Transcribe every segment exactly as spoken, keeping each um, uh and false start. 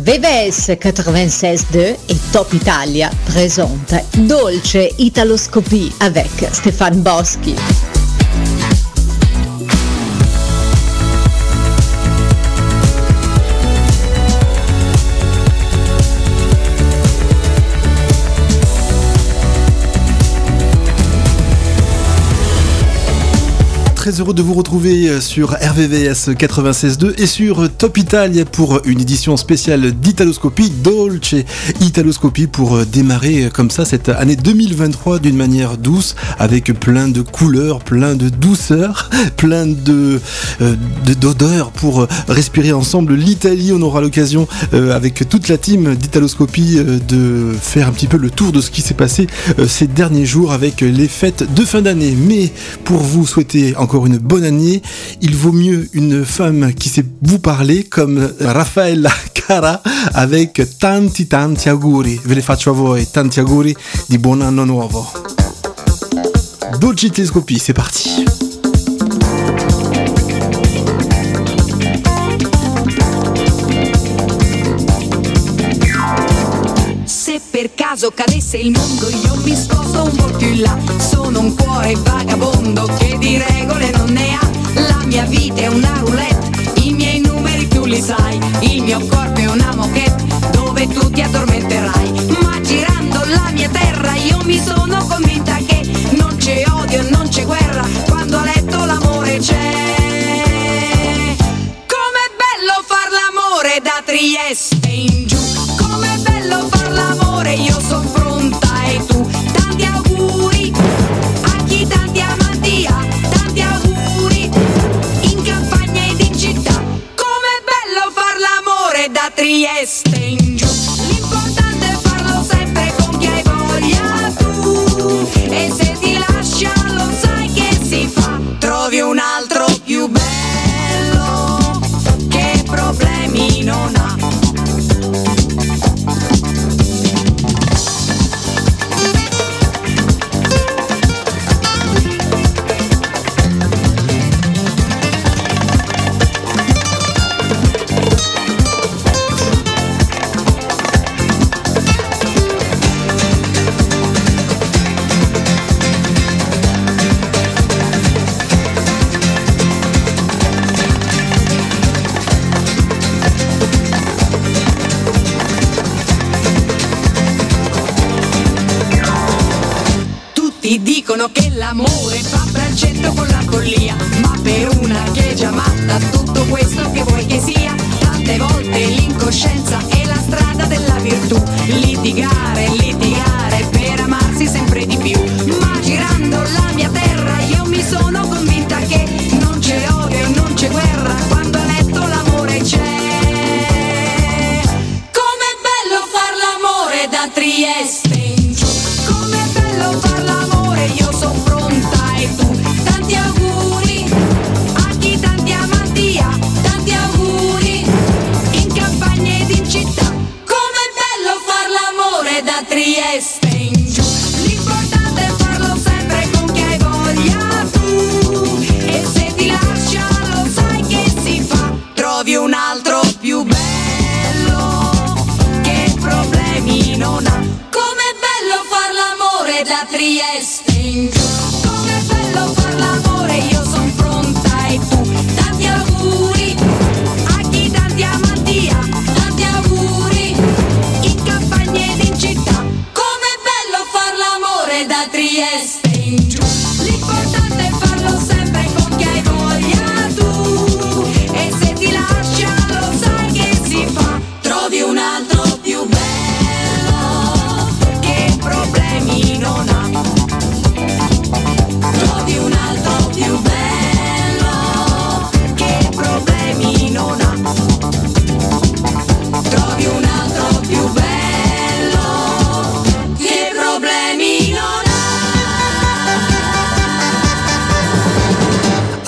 V V S quatre-vingt-seize deux et Top Italia présente Dolce Italoscopie avec Stéphane Boschi. Très heureux de vous retrouver sur R V V S quatre-vingt-seize deux et sur Top Italia pour une édition spéciale d'Italoscopie, Dolce Italoscopie, pour démarrer comme ça cette année deux mille vingt-trois d'une manière douce, avec plein de couleurs, plein de douceur, plein de, euh, de d'odeurs pour respirer ensemble l'Italie. On aura l'occasion euh, avec toute la team d'Italoscopie euh, de faire un petit peu le tour de ce qui s'est passé euh, ces derniers jours avec les fêtes de fin d'année. Mais pour vous souhaiter encore une bonne année, il vaut mieux une femme qui sait vous parler comme Raffaella Cara avec tanti tanti auguri. Ve le faccio a voi, tanti auguri di buon anno nuovo. Dolce Italoscopie, c'est parti. Se per caso cadesse il mondo io mi sposto un po' più in là. Sono un cuore vagabondo che di regole non ne ha. La mia vita è una roulette, i miei numeri tu li sai. Il mio corpo è una moquette dove tu ti addormenterai. Ma girando la mia terra io mi sono convinta che non c'è odio, non c'è guerra, quando a letto l'amore c'è. Com'è bello far l'amore da Trieste in giù. Com'è bello far l'amore, io son pronta e tu. Tanti auguri a chi tanti amanti ha. Tanti auguri in campagna ed in città. Com'è bello far l'amore da Trieste in giù. L'importante è farlo sempre con chi hai voglia tu. E se ti lascia lo sai che si fa. Trovi un altro più bello che problemi non ha. Dicono che l'amore fa braccetto con la follia, ma per una che è già matta tutto questo che vuoi che sia. Tante volte l'incoscienza è la strada della virtù. Litigare, litigare per amarsi sempre di più. Ma girando la mia terra io mi sono convinta che non c'è odio, non c'è guerra, quando a letto l'amore c'è. Com'è bello far l'amore da Trieste in giù. Com'è bello far l'amore, io son pronta e tu. Tanti auguri a chi tanti amanti ha. Tanti auguri in campagna ed in città.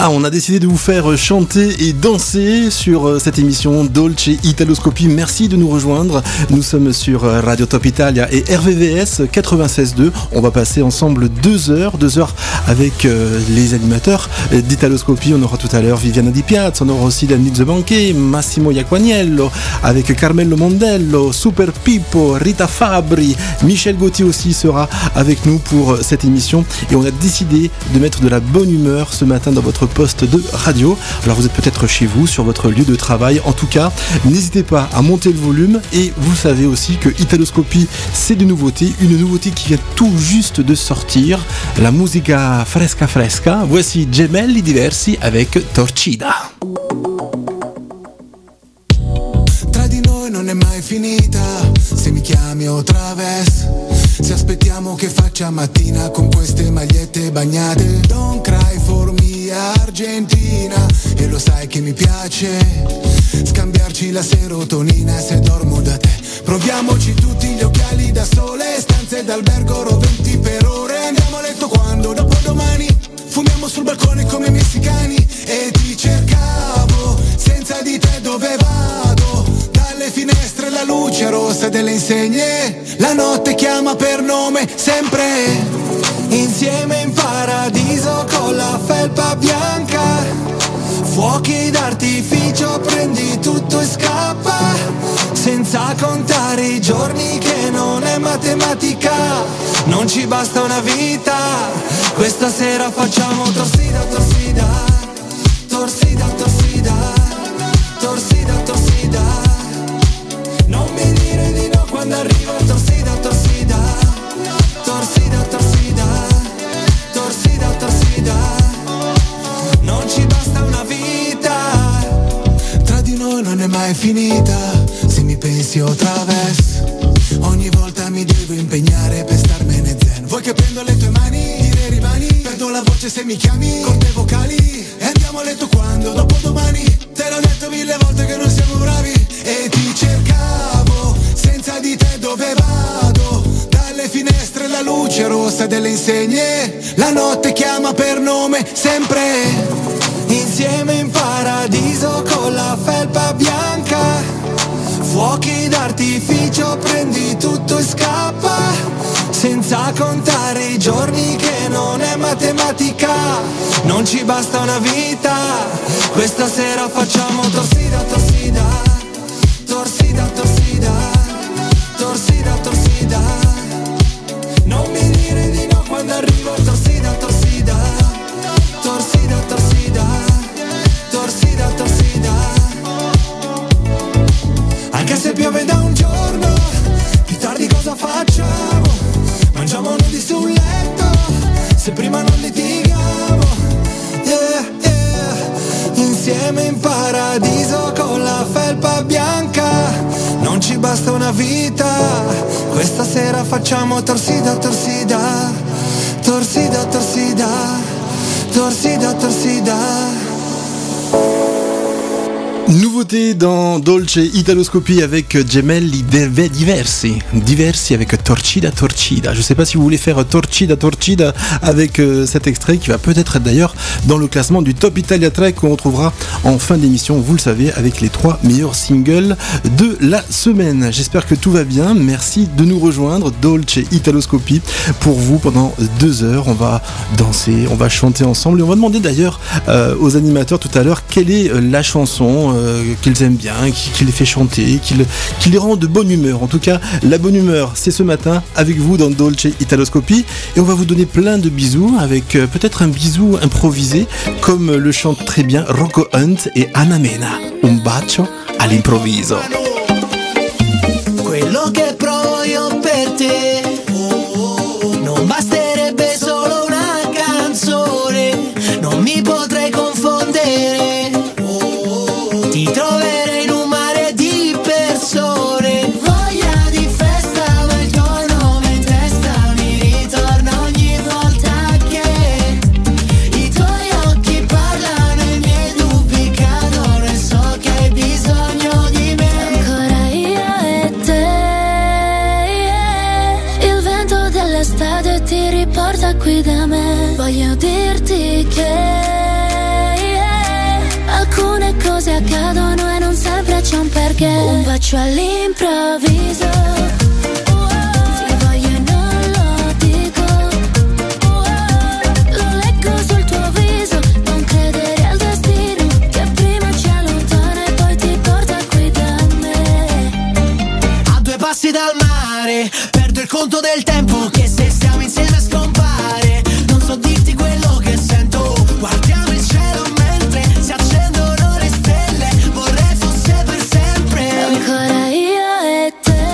Ah, on a décidé de vous faire chanter et danser sur cette émission Dolce Italoscopie. Merci de nous rejoindre. Nous sommes sur Radio Top Italia et R V V S quatre-vingt-seize deux. On va passer ensemble deux heures, deux heures avec euh, les animateurs d'Italoscopie. On aura tout à l'heure Viviana Di Piazza, on aura aussi Daniel Banquet, Massimo Iaquaniello, avec Carmelo Mondello, Super Pippo, Rita Fabri, Michel Gauthier aussi sera avec nous pour cette émission. Et on a décidé de mettre de la bonne humeur ce matin dans votre poste de radio. Alors vous êtes peut-être chez vous, sur votre lieu de travail. En tout cas, n'hésitez pas à monter le volume. Et vous savez aussi que Italoscopie, c'est de nouveautés. Une nouveauté qui vient tout juste de sortir. La musica fresca fresca. Voici Gemelli Diversi avec Torcida. Tra di noi non è mai finita, se mi chiami o traves, se aspettiamo che faccia mattina con queste magliette bagnate. Don't cry for me Argentina, e lo sai che mi piace scambiarci la serotonina se dormo da te. Proviamoci tutti gli occhiali da sole, stanze d'albergo roventi per ore. Andiamo a letto quando? Dopodomani. Fumiamo sul balcone come messicani e ti cercavo, senza di te dove vado? Dalle finestre la luce rossa delle insegne, la notte chiama per nome sempre. Insieme in paradiso con la felpa bianca, fuochi d'artificio, prendi tutto e scappa, senza contare i giorni che non è matematica, non ci basta una vita, questa sera facciamo torsida, torsida, torsida, torsida, torsida, torsida, non mi dire di no quando arriva torsida, torsida, torsida, torsida, torsida, torsida, non ci basta una vita, tra di noi non è mai finita, se mi pensi o traves, ogni volta mi devo impegnare per starmene zen. Vuoi che prendo le tue mani, dire rimani, perdo la voce se mi chiami, con te vocali, e andiamo a letto quando? Dopodomani. Te l'ho detto mille volte che non siamo bravi, e ti cercavo, senza di te dove vado? Dalle finestre la luce rossa delle insegne, la notte chiama per nome sempre. Insieme in paradiso con la felpa bianca, fuochi d'artificio, prendi tutto e scappa, senza contare i giorni che non è matematica, non ci basta una vita, questa sera facciamo torsida, torsida, torsida, torsida, torsida, torsida, non mi dire di no quando arrivo torsida, torsida, torsida, torsida, torsida, torsida, anche se piove da un giorno, più tardi cosa facciamo? Mangiamo nudi sul letto, se prima non litighiamo, yeah, yeah. Insieme in paradiso con la felpa bianca, non ci basta una vita, questa sera facciamo torsida, torsida, torsida, torsida, torsida, torsida. Nouveauté dans Dolce Italoscopie avec Gemelli Diversi, Diversi avec Torcida Torcida. Je sais pas si vous voulez faire Torcida Torcida avec euh, cet extrait qui va peut-être être d'ailleurs dans le classement du Top Italia Track qu'on retrouvera en fin d'émission, vous le savez, avec les trois meilleurs singles de la semaine. J'espère que tout va bien. Merci de nous rejoindre. Dolce Italoscopie pour vous pendant deux heures. On va danser, on va chanter ensemble et on va demander d'ailleurs euh, aux animateurs tout à l'heure quelle est euh, la chanson Euh, qu'ils aiment bien, qui, qui les fait chanter, qui, le, qui les rend de bonne humeur. En tout cas, la bonne humeur, c'est ce matin avec vous dans Dolce Italoscopie. Et on va vous donner plein de bisous avec euh, peut-être un bisou improvisé, comme le chantent très bien Rocco Hunt et Anna Mena. Un bacio all'improvviso. Quello che provo io per te non basterebbe solo una canzone, non mi potrei confondere. Ti troverei in un mare di persone, voglia di festa, ma il tuo nome in testa mi ritorna ogni volta che i tuoi occhi parlano, i miei dubbi cadono e so che hai bisogno di me. Ancora io e te, il vento dell'estate ti riporta cose accadono e non sempre c'è un perché. Un bacio all'improvviso, oh, ti voglio e non lo dico, oh, lo leggo sul tuo viso. Non credere al destino che prima ci allontana e poi ti porta qui da me. A due passi dal mare, perdo il conto del tempo che se stiamo insieme scompare. Non so dirti quello che sento, guardiamo il cielo mentre si accendono le stelle. Vorrei fosse per sempre. Ancora io e te,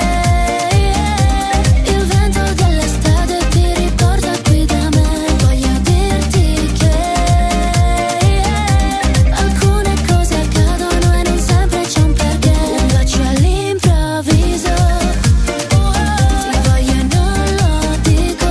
il vento dell'estate ti riporta qui da me. Voglio dirti che alcune cose accadono e non sempre c'è un perché. Un bacio all'improvviso, ti voglio e non lo dico,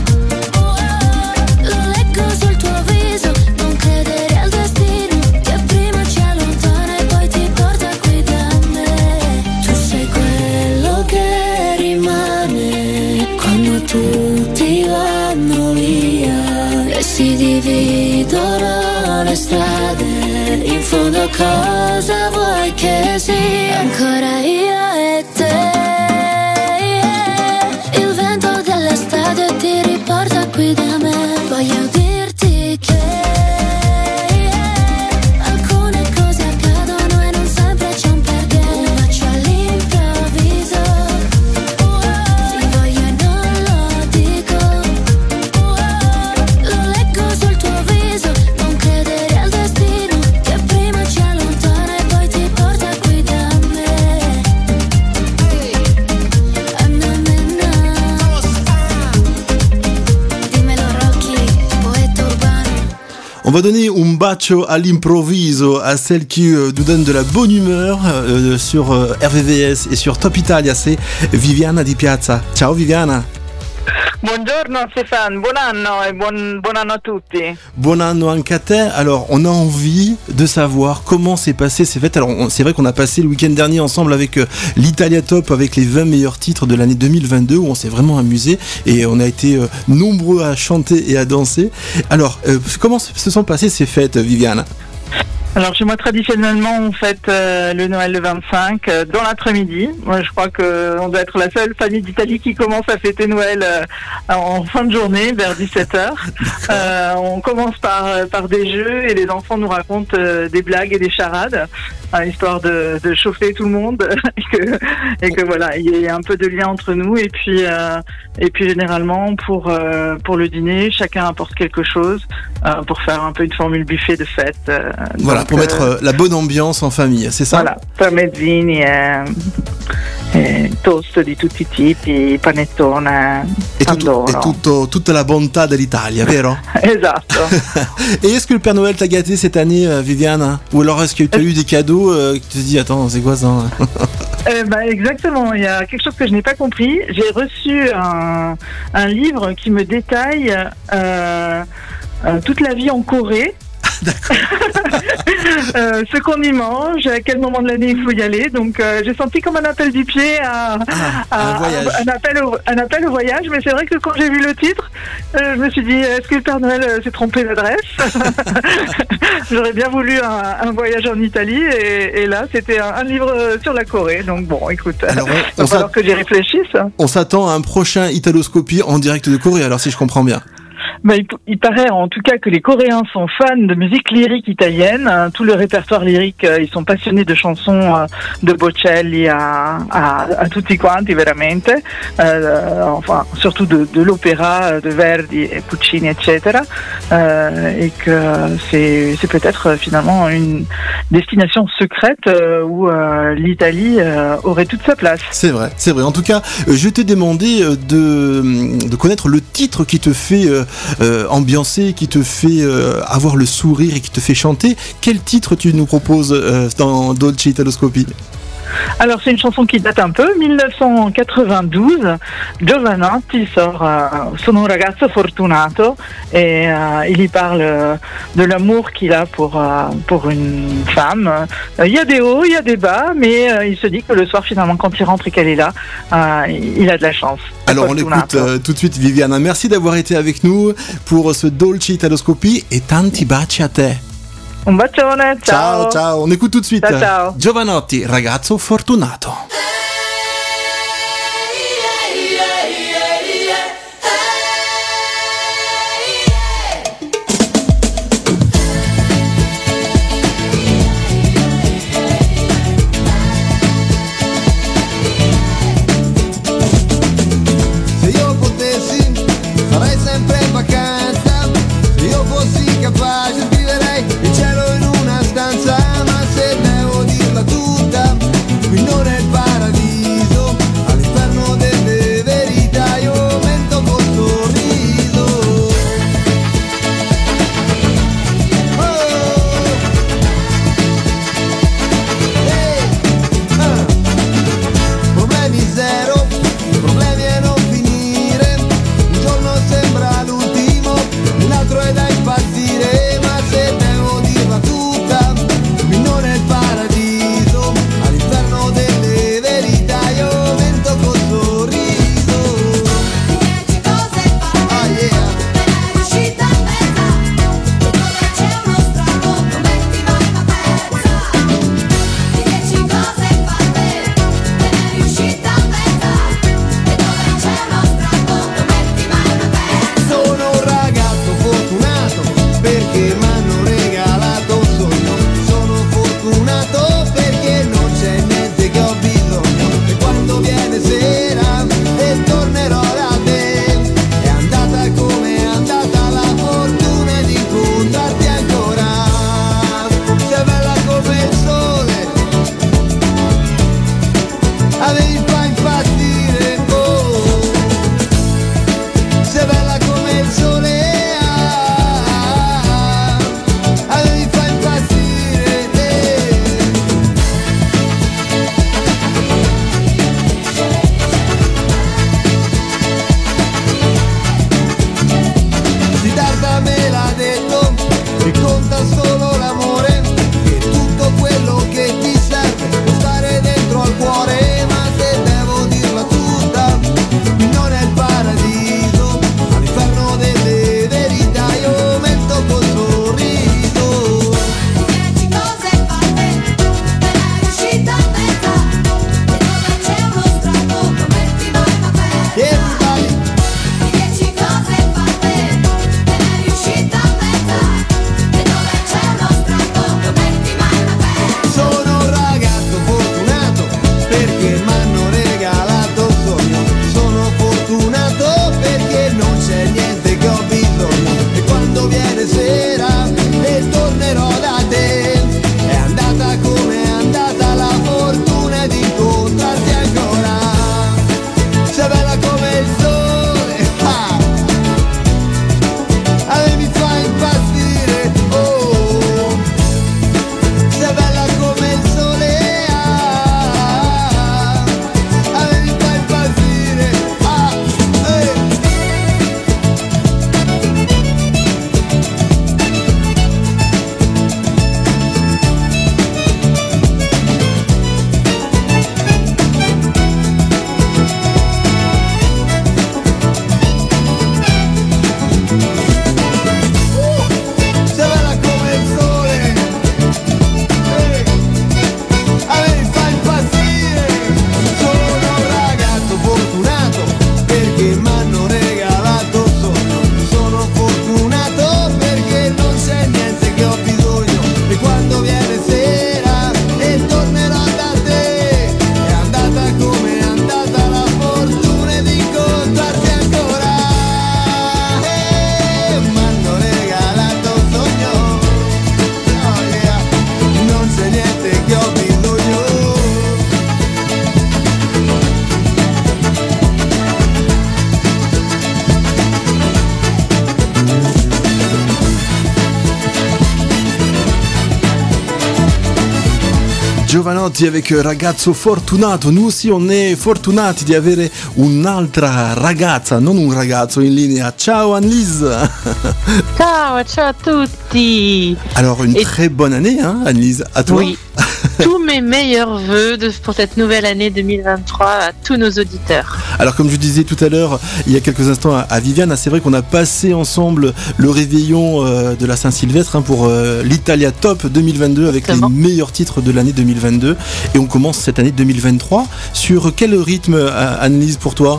lo leggo sul tuo viso. Non credere al destino che prima ci allontana e poi ti porta qui da me. Tu sei quello che rimane quando tutti vanno via e si dividono le strade. In fondo cosa vuoi che sia? Ancora io e te, il vento dell'estate ti riporta qui da me. Voglio dirti che alcune cose accadono e non sempre c'è un perché. Un bacio all'improvviso, ti voglio e non lo dico, lo leggo sul tuo viso. Non credere al destino che prima ci allontana e poi ti porta qui da me. Anna menna, dimmelo Rocky, poeta urbano. On va donner un bacio à l'improvviso à celle qui euh, nous donne de la bonne humeur euh, sur euh, R V V S et sur Top Italia, c'est Viviana Di Piazza. Ciao Viviana. Buongiorno Stéphane, buon anno e buon, buon anno a tutti. Bon anno anche a te. Alors, on a envie de savoir comment s'est passé ces fêtes. Alors, on- c'est vrai qu'on a passé le week-end dernier ensemble avec euh, l'Italia Top, avec les vingt meilleurs titres de l'année deux mille vingt-deux, où on s'est vraiment amusé et on a été euh, nombreux à chanter et à danser. Alors, euh, comment se sont passées ces fêtes, Viviana? Alors chez moi traditionnellement on fête euh, le Noël le vingt-cinq euh, dans l'après-midi. Moi je crois que on doit être la seule famille d'Italie qui commence à fêter Noël euh, en fin de journée vers dix-sept heures. Euh, on commence par par des jeux et les enfants nous racontent euh, des blagues et des charades, hein, histoire de, de chauffer tout le monde et que et que voilà il y ait un peu de lien entre nous. Et puis euh, et puis généralement pour euh, pour le dîner chacun apporte quelque chose euh, pour faire un peu une formule buffet de fête. euh, Voilà, donc, pour euh, mettre euh, la bonne ambiance en famille, c'est ça? Voilà, parmezzini e, e toast di tutti i tipi, panettone, Et, tout- pandoro. et tout- toute la bontà dell'Italia, vero? Esatto. Et est-ce que le Père Noël t'a gâté cette année, euh, Viviane? Ou alors est-ce que tu as eu des cadeaux euh, que tu te dis, attends, c'est quoi ça? Eh ben, exactement, il y a quelque chose que je n'ai pas compris. J'ai reçu un, un livre qui me détaille euh, euh, toute la vie en Corée. euh, ce qu'on y mange, à quel moment de l'année il faut y aller. Donc euh, j'ai senti comme un appel du pied à, à- un voyage. un, appel au, un appel au voyage. Mais c'est vrai que quand j'ai vu le titre, euh, je me suis dit, est-ce que le Père Noël euh, s'est trompé d'adresse? J'aurais bien voulu un, un voyage en Italie et, et là c'était un, un livre euh, sur la Corée. Donc bon, écoute, Alors, on- il on va falloir que j'y réfléchisse. On s'attend à un prochain Italoscopie en direct de Corée, alors si je comprends bien. Bah, il, il paraît en tout cas que les Coréens sont fans de musique lyrique italienne. Hein, tout le répertoire lyrique, euh, ils sont passionnés de chansons euh, de Bocelli à, à, à tutti quanti, veramente. Euh, enfin, surtout de, de l'opéra de Verdi et Puccini, et cetera. Euh, et que c'est, c'est peut-être euh, finalement une destination secrète euh, où euh, l'Italie euh, aurait toute sa place. C'est vrai, c'est vrai. En tout cas, euh, je t'ai demandé euh, de, de connaître le titre qui te fait euh, euh, ambiancer, qui te fait euh, avoir le sourire et qui te fait chanter. Quel titre tu nous proposes euh, dans Dolce Italoscopie? Alors c'est une chanson qui date un peu, dix-neuf cent quatre-vingt-douze. Giovanotti sort euh, Sono un ragazzo fortunato et euh, il y parle euh, de l'amour qu'il a pour euh, pour une femme. Euh, Il y a des hauts, il y a des bas, mais euh, il se dit que le soir finalement quand il rentre et qu'elle est là, euh, il a de la chance. Alors on Fortunato. l'écoute euh, tout de suite, Viviana. Merci d'avoir été avec nous pour ce Dolce Italoscopie et tanti baci a te. Un bacione, ciao. Ciao, ciao. On écoute tout de suite. Ciao, ciao. Giovanotti, ragazzo fortunato. Se io potessi farei sempre in vacanza, se io fossi capace scriverei il cielo in una stanza, ma se devo dirla tutta, qui non è il paradiso, all'inferno delle verità io mento col sorriso. Oh! Ehi! Ah! Problemi zero, problemi a non finire, un giorno sembra l'ultimo, l'altro è da impazzire, ma se devo dirla tutta, qui non è il paradiso, all'inferno delle verità io mento col sorriso. Dieci cose fatte Ah yeah, per riuscita a mezza, e dove c'è uno strato non metti mai una pezza. Dieci cose fatte per riuscita a mezza, e dove c'è uno strato non metti mai una pezza. sono un ragazzo fortunato perché m'hanno regalato un sogno, sono fortunato perché non c'è niente che ho bisogno, e quando viene sera e tornerò da te, è andata come è andata la fortuna di incontrarti ancora, sei bella come il sole, avevi fa impazzire, oh, sei bella come il sole, ah, avevi fa impazzire, eh. Siddhartha me l'ha detto, che conta solo l'amore, che tutto quello che ti serve può stare dentro al cuore, ma se devo dirla tutta, qui non è il paradiso, all'inferno delle verità io mento col sorriso. Dieci cose fatte per riuscita a mezza, e dove c'è uno strato non metti mai una pezza. Everybody, Dieci cose fatte per riuscita a mezza, e dove c'è uno strato non metti mai una pezza. sono un ragazzo fortunato perché m'hanno regalato un sogno, sono fortunato perché non c'è niente che ho bisogno, e quando viene sera e tornerò da te, è andata come è andata la fortuna di incontrarti ancora, sei bella come il sole, ah, avevi fa impazzire, oh, sei bella come il sole, ah, avevi fa impazzire, ah, eh. Sei bella come il sole, eh, avevi fa impazzire, sono un ragazzo fortunato perché m'hanno regalato un sogno, sono fortunato perché non c'è niente che ho bisogno, e quando viene sera e tornerò da te, è andata come è andata la fortuna di incontrarti ancora, eh, m'hanno regalato un sogno, oh yeah, non c'è niente che ho bisogno. Giovanotti avec ragazzo fortunato. Nous aussi on est fortunati di avere un'altra ragazza, non un ragazzo in linea. Ciao Annelise. Ciao, ciao a tutti. Alors une Et- très bonne année hein, Annelise, à toi. Oui, tous mes meilleurs vœux de, pour cette nouvelle année deux mille vingt-trois à tous nos auditeurs. Alors comme je disais tout à l'heure, il y a quelques instants à, à Viviane, c'est vrai qu'on a passé ensemble le réveillon euh, de la Saint-Sylvestre hein, pour euh, l'Italia Top deux mille vingt-deux avec Exactement. Les meilleurs titres de l'année deux mille vingt-deux. Et on commence cette année deux mille vingt-trois. Sur quel rythme, Anne-Lise, pour toi ?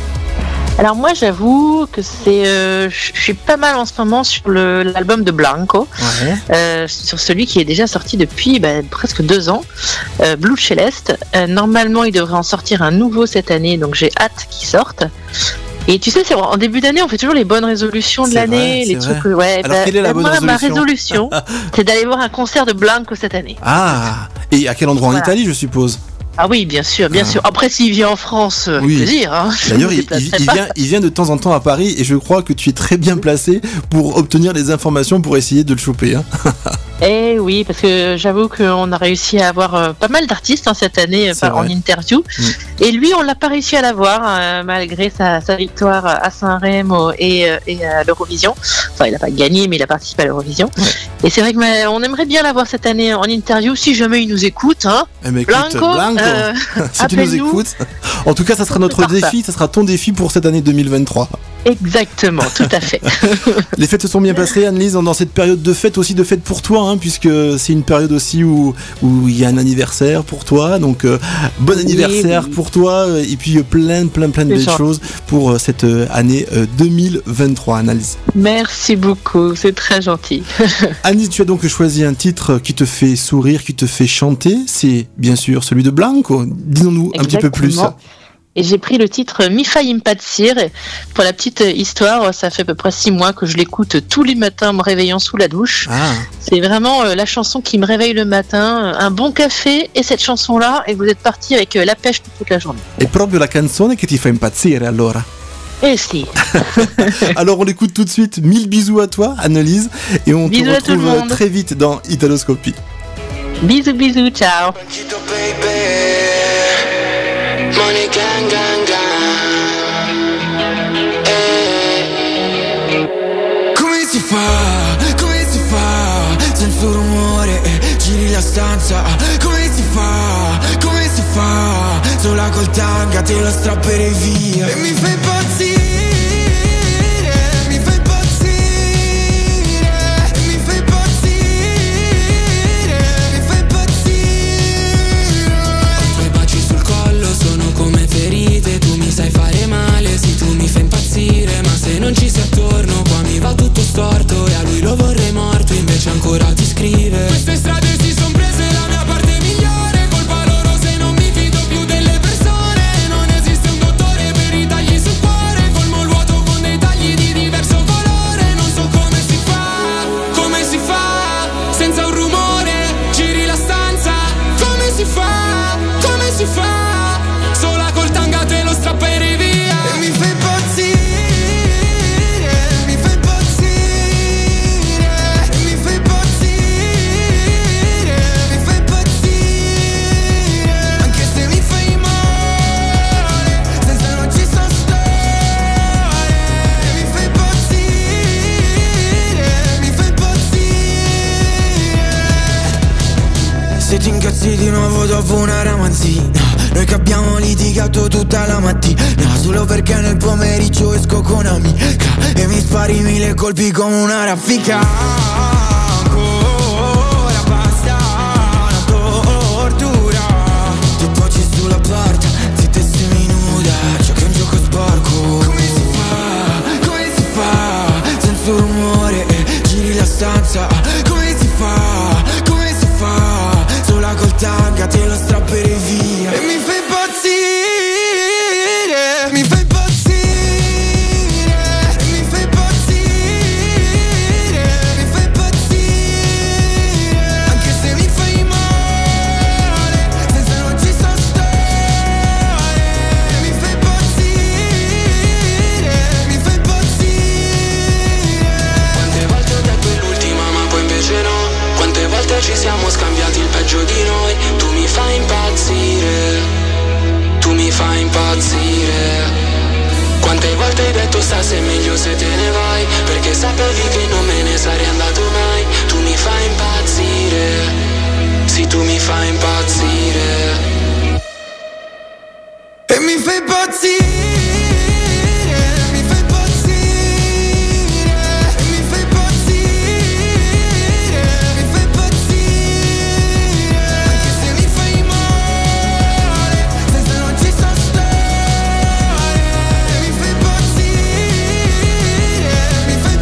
Alors moi j'avoue que c'est, euh, je suis pas mal en ce moment sur le, l'album de Blanco, ouais. euh, sur celui qui est déjà sorti depuis bah, presque deux ans, euh, Blue Celeste. Euh, normalement il devrait en sortir un nouveau cette année, donc j'ai hâte qu'il sorte. Et tu sais, c'est en début d'année, on fait toujours les bonnes résolutions de c'est l'année, vrai, les trucs. Vrai. Ouais. Alors, bah, quelle est la bonne moi, résolution ma résolution, c'est d'aller voir un concert de Blanco cette année. Ah, et à quel endroit voilà. En Italie, je suppose? Ah oui, bien sûr, bien ah. sûr. Après, s'il vient en France, avec oui. plaisir. Hein. D'ailleurs, il, il, il, vient, il vient de temps en temps à Paris et je crois que tu es très bien placé pour obtenir des informations pour essayer de le choper. Hein. Eh oui, parce que j'avoue qu'on a réussi à avoir euh, pas mal d'artistes hein, cette année euh, en interview. Mmh. Et lui, on l'a pas réussi à l'avoir euh, malgré sa, sa victoire à Saint-Remo et, euh, et à l'Eurovision. Enfin, il n'a pas gagné, mais il a participé à l'Eurovision. Ouais. Et c'est vrai qu'on aimerait bien l'avoir cette année en interview, si jamais il nous écoute. Hein. Eh mais écoute, Blanco, Blanco euh, si tu nous écoutes. En tout cas, ça sera notre défi, ça. ça sera ton défi pour cette année deux mille vingt-trois. Exactement, tout à fait. Les fêtes se sont bien passées, Anne-Lise, dans cette période de fête, aussi de fête pour toi, hein, puisque c'est une période aussi où où il y a un anniversaire pour toi, donc euh, bon anniversaire oui, oui. pour toi, et puis euh, plein, plein, plein de c'est belles gentil. Choses pour euh, cette euh, année euh, deux mille vingt-trois, Anne-Lise. Merci beaucoup, c'est très gentil. Anne-Lise, tu as donc choisi un titre qui te fait sourire, qui te fait chanter, c'est bien sûr celui de Blanco. Dis-nous un petit peu plus. Et j'ai pris le titre Mi fai impazzire. Pour la petite histoire, ça fait à peu près six mois que je l'écoute tous les matins en me réveillant sous la douche. Ah. C'est vraiment euh, la chanson qui me réveille le matin. Un bon café et cette chanson-là, et vous êtes parti avec euh, la pêche pour toute la journée. È proprio la canzone che ti fa impazzire allora. Eh si. Alors on l'écoute tout de suite. Mille bisous à toi, Anne-Lise, et on bisous te retrouve très vite dans Italoscopie. Bisous, bisous, ciao. Money gang gang gang eh. Come si fa, come si fa, senza un rumore eh, giri la stanza. Come si fa, come si fa, sola col tanga te lo strapperei via. E mi fai impazzire. Sai fare male, sì tu mi fai impazzire, ma se non ci sei attorno qua mi va tutto storto e a lui lo vorrei morto, invece ancora ti scrive. Queste strade si son prese la mia parte migliore, colpa loro se non mi fido più delle persone, non esiste un dottore per i tagli sul cuore, colmo il vuoto con dei tagli di diverso colore, non so come si fa, come si fa, senza un rumore, giri la stanza, come si fa, come si fa. Strappere via e mi fai impazzire, mi fai impazzire, mi fai impazzire, mi fai impazzire, anche se mi fai male, senza non ci so stare, mi fai impazzire, mi fai impazzire. Se ti incazzi di nuovo dopo una ramanzina, noi che abbiamo litigato tutta la mattina, solo perché nel pomeriggio esco con amica e mi spari mille colpi come una raffica. Ancora basta una tortura, ti poggi sulla porta, zitta e seminuda, giochi un gioco sporco. Come si fa, come si fa, senza un rumore, giri la stanza. Come si fa, come si fa, sola col tanga te lo strapperei via. E mi fai impazzire, mi fai impazzire, mi fai impazzire, mi fai impazzire, anche se mi fai male, senza non ci so stare, mi fai impazzire, mi fai impazzire. Quante volte ho detto è l'ultima ma poi invece no, quante volte ci siamo scambiati il peggio di noi. Tu mi fai impazzire, tu mi fai impazzire. Quante volte hai detto sta se è meglio se te ne vai, perché sapevi che non me ne sarei andato mai. Tu mi fai impazzire, sì tu mi fai impazzire. mi fai impazzire, mi fai impazzire, mi fai impazzire, mi fai impazzire, anche se mi fai male, senza non ci so stare, mi fai impazzire, mi fai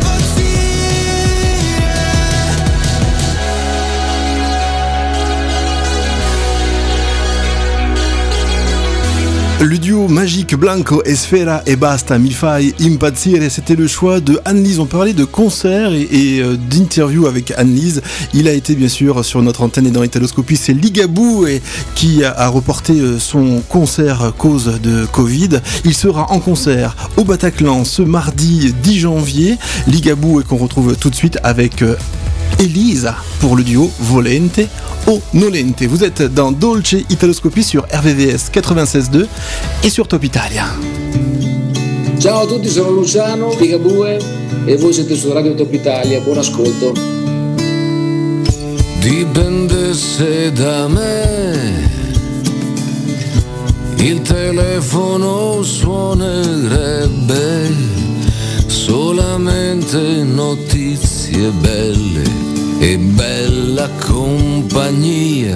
Le duo magique Blanco et Sfera et Basta Mi Fai Impazzire, c'était le choix de Anne-Lise. On parlait de concerts et, et euh, d'interviews avec Anne-Lise. Il a été bien sûr sur notre antenne et dans Italoscopie, c'est Ligabou et, qui a, a reporté euh, son concert cause de Covid. Il sera en concert au Bataclan ce mardi dix janvier. Ligabou et qu'on retrouve tout de suite avec euh, Elisa pour le duo Volente o Nolente. Vous êtes dans Dolce Italoscopie sur R V V S quatre-vingt-seize virgole deux et sur Top Italia. Ciao a tutti, sono Luciano Ligabue e voi siete su Radio Top Italia, buon ascolto. Dipendesse da me, il telefono suonerebbe solamente notizie belle e bella compagnia.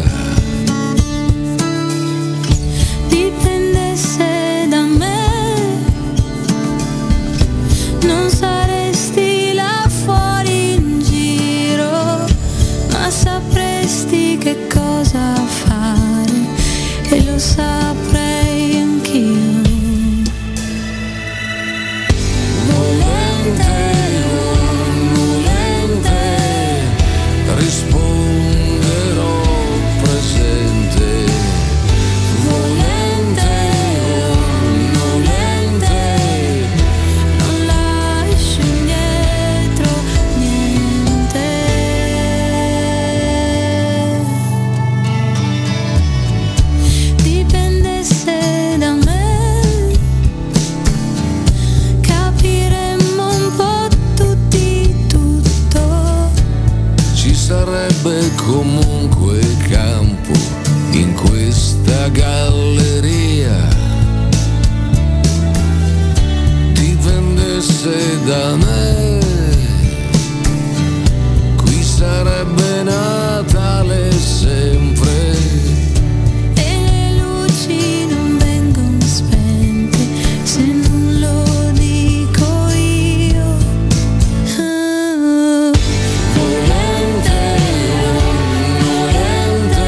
Dipendesse da me, non saresti là fuori in giro, ma sapresti che cosa fare e lo saprei anch'io. Volente, risponderò presente, volente o nolente, non lascio indietro niente. Dipendesse da me, capiremmo un po' tutti tutto. ci sarebbe comunque campo in questa galleria. Dipendesse da me, qui sarebbe Natale sempre. E le luci non vengono spente se non lo dico io. Ah. Volente o nolente,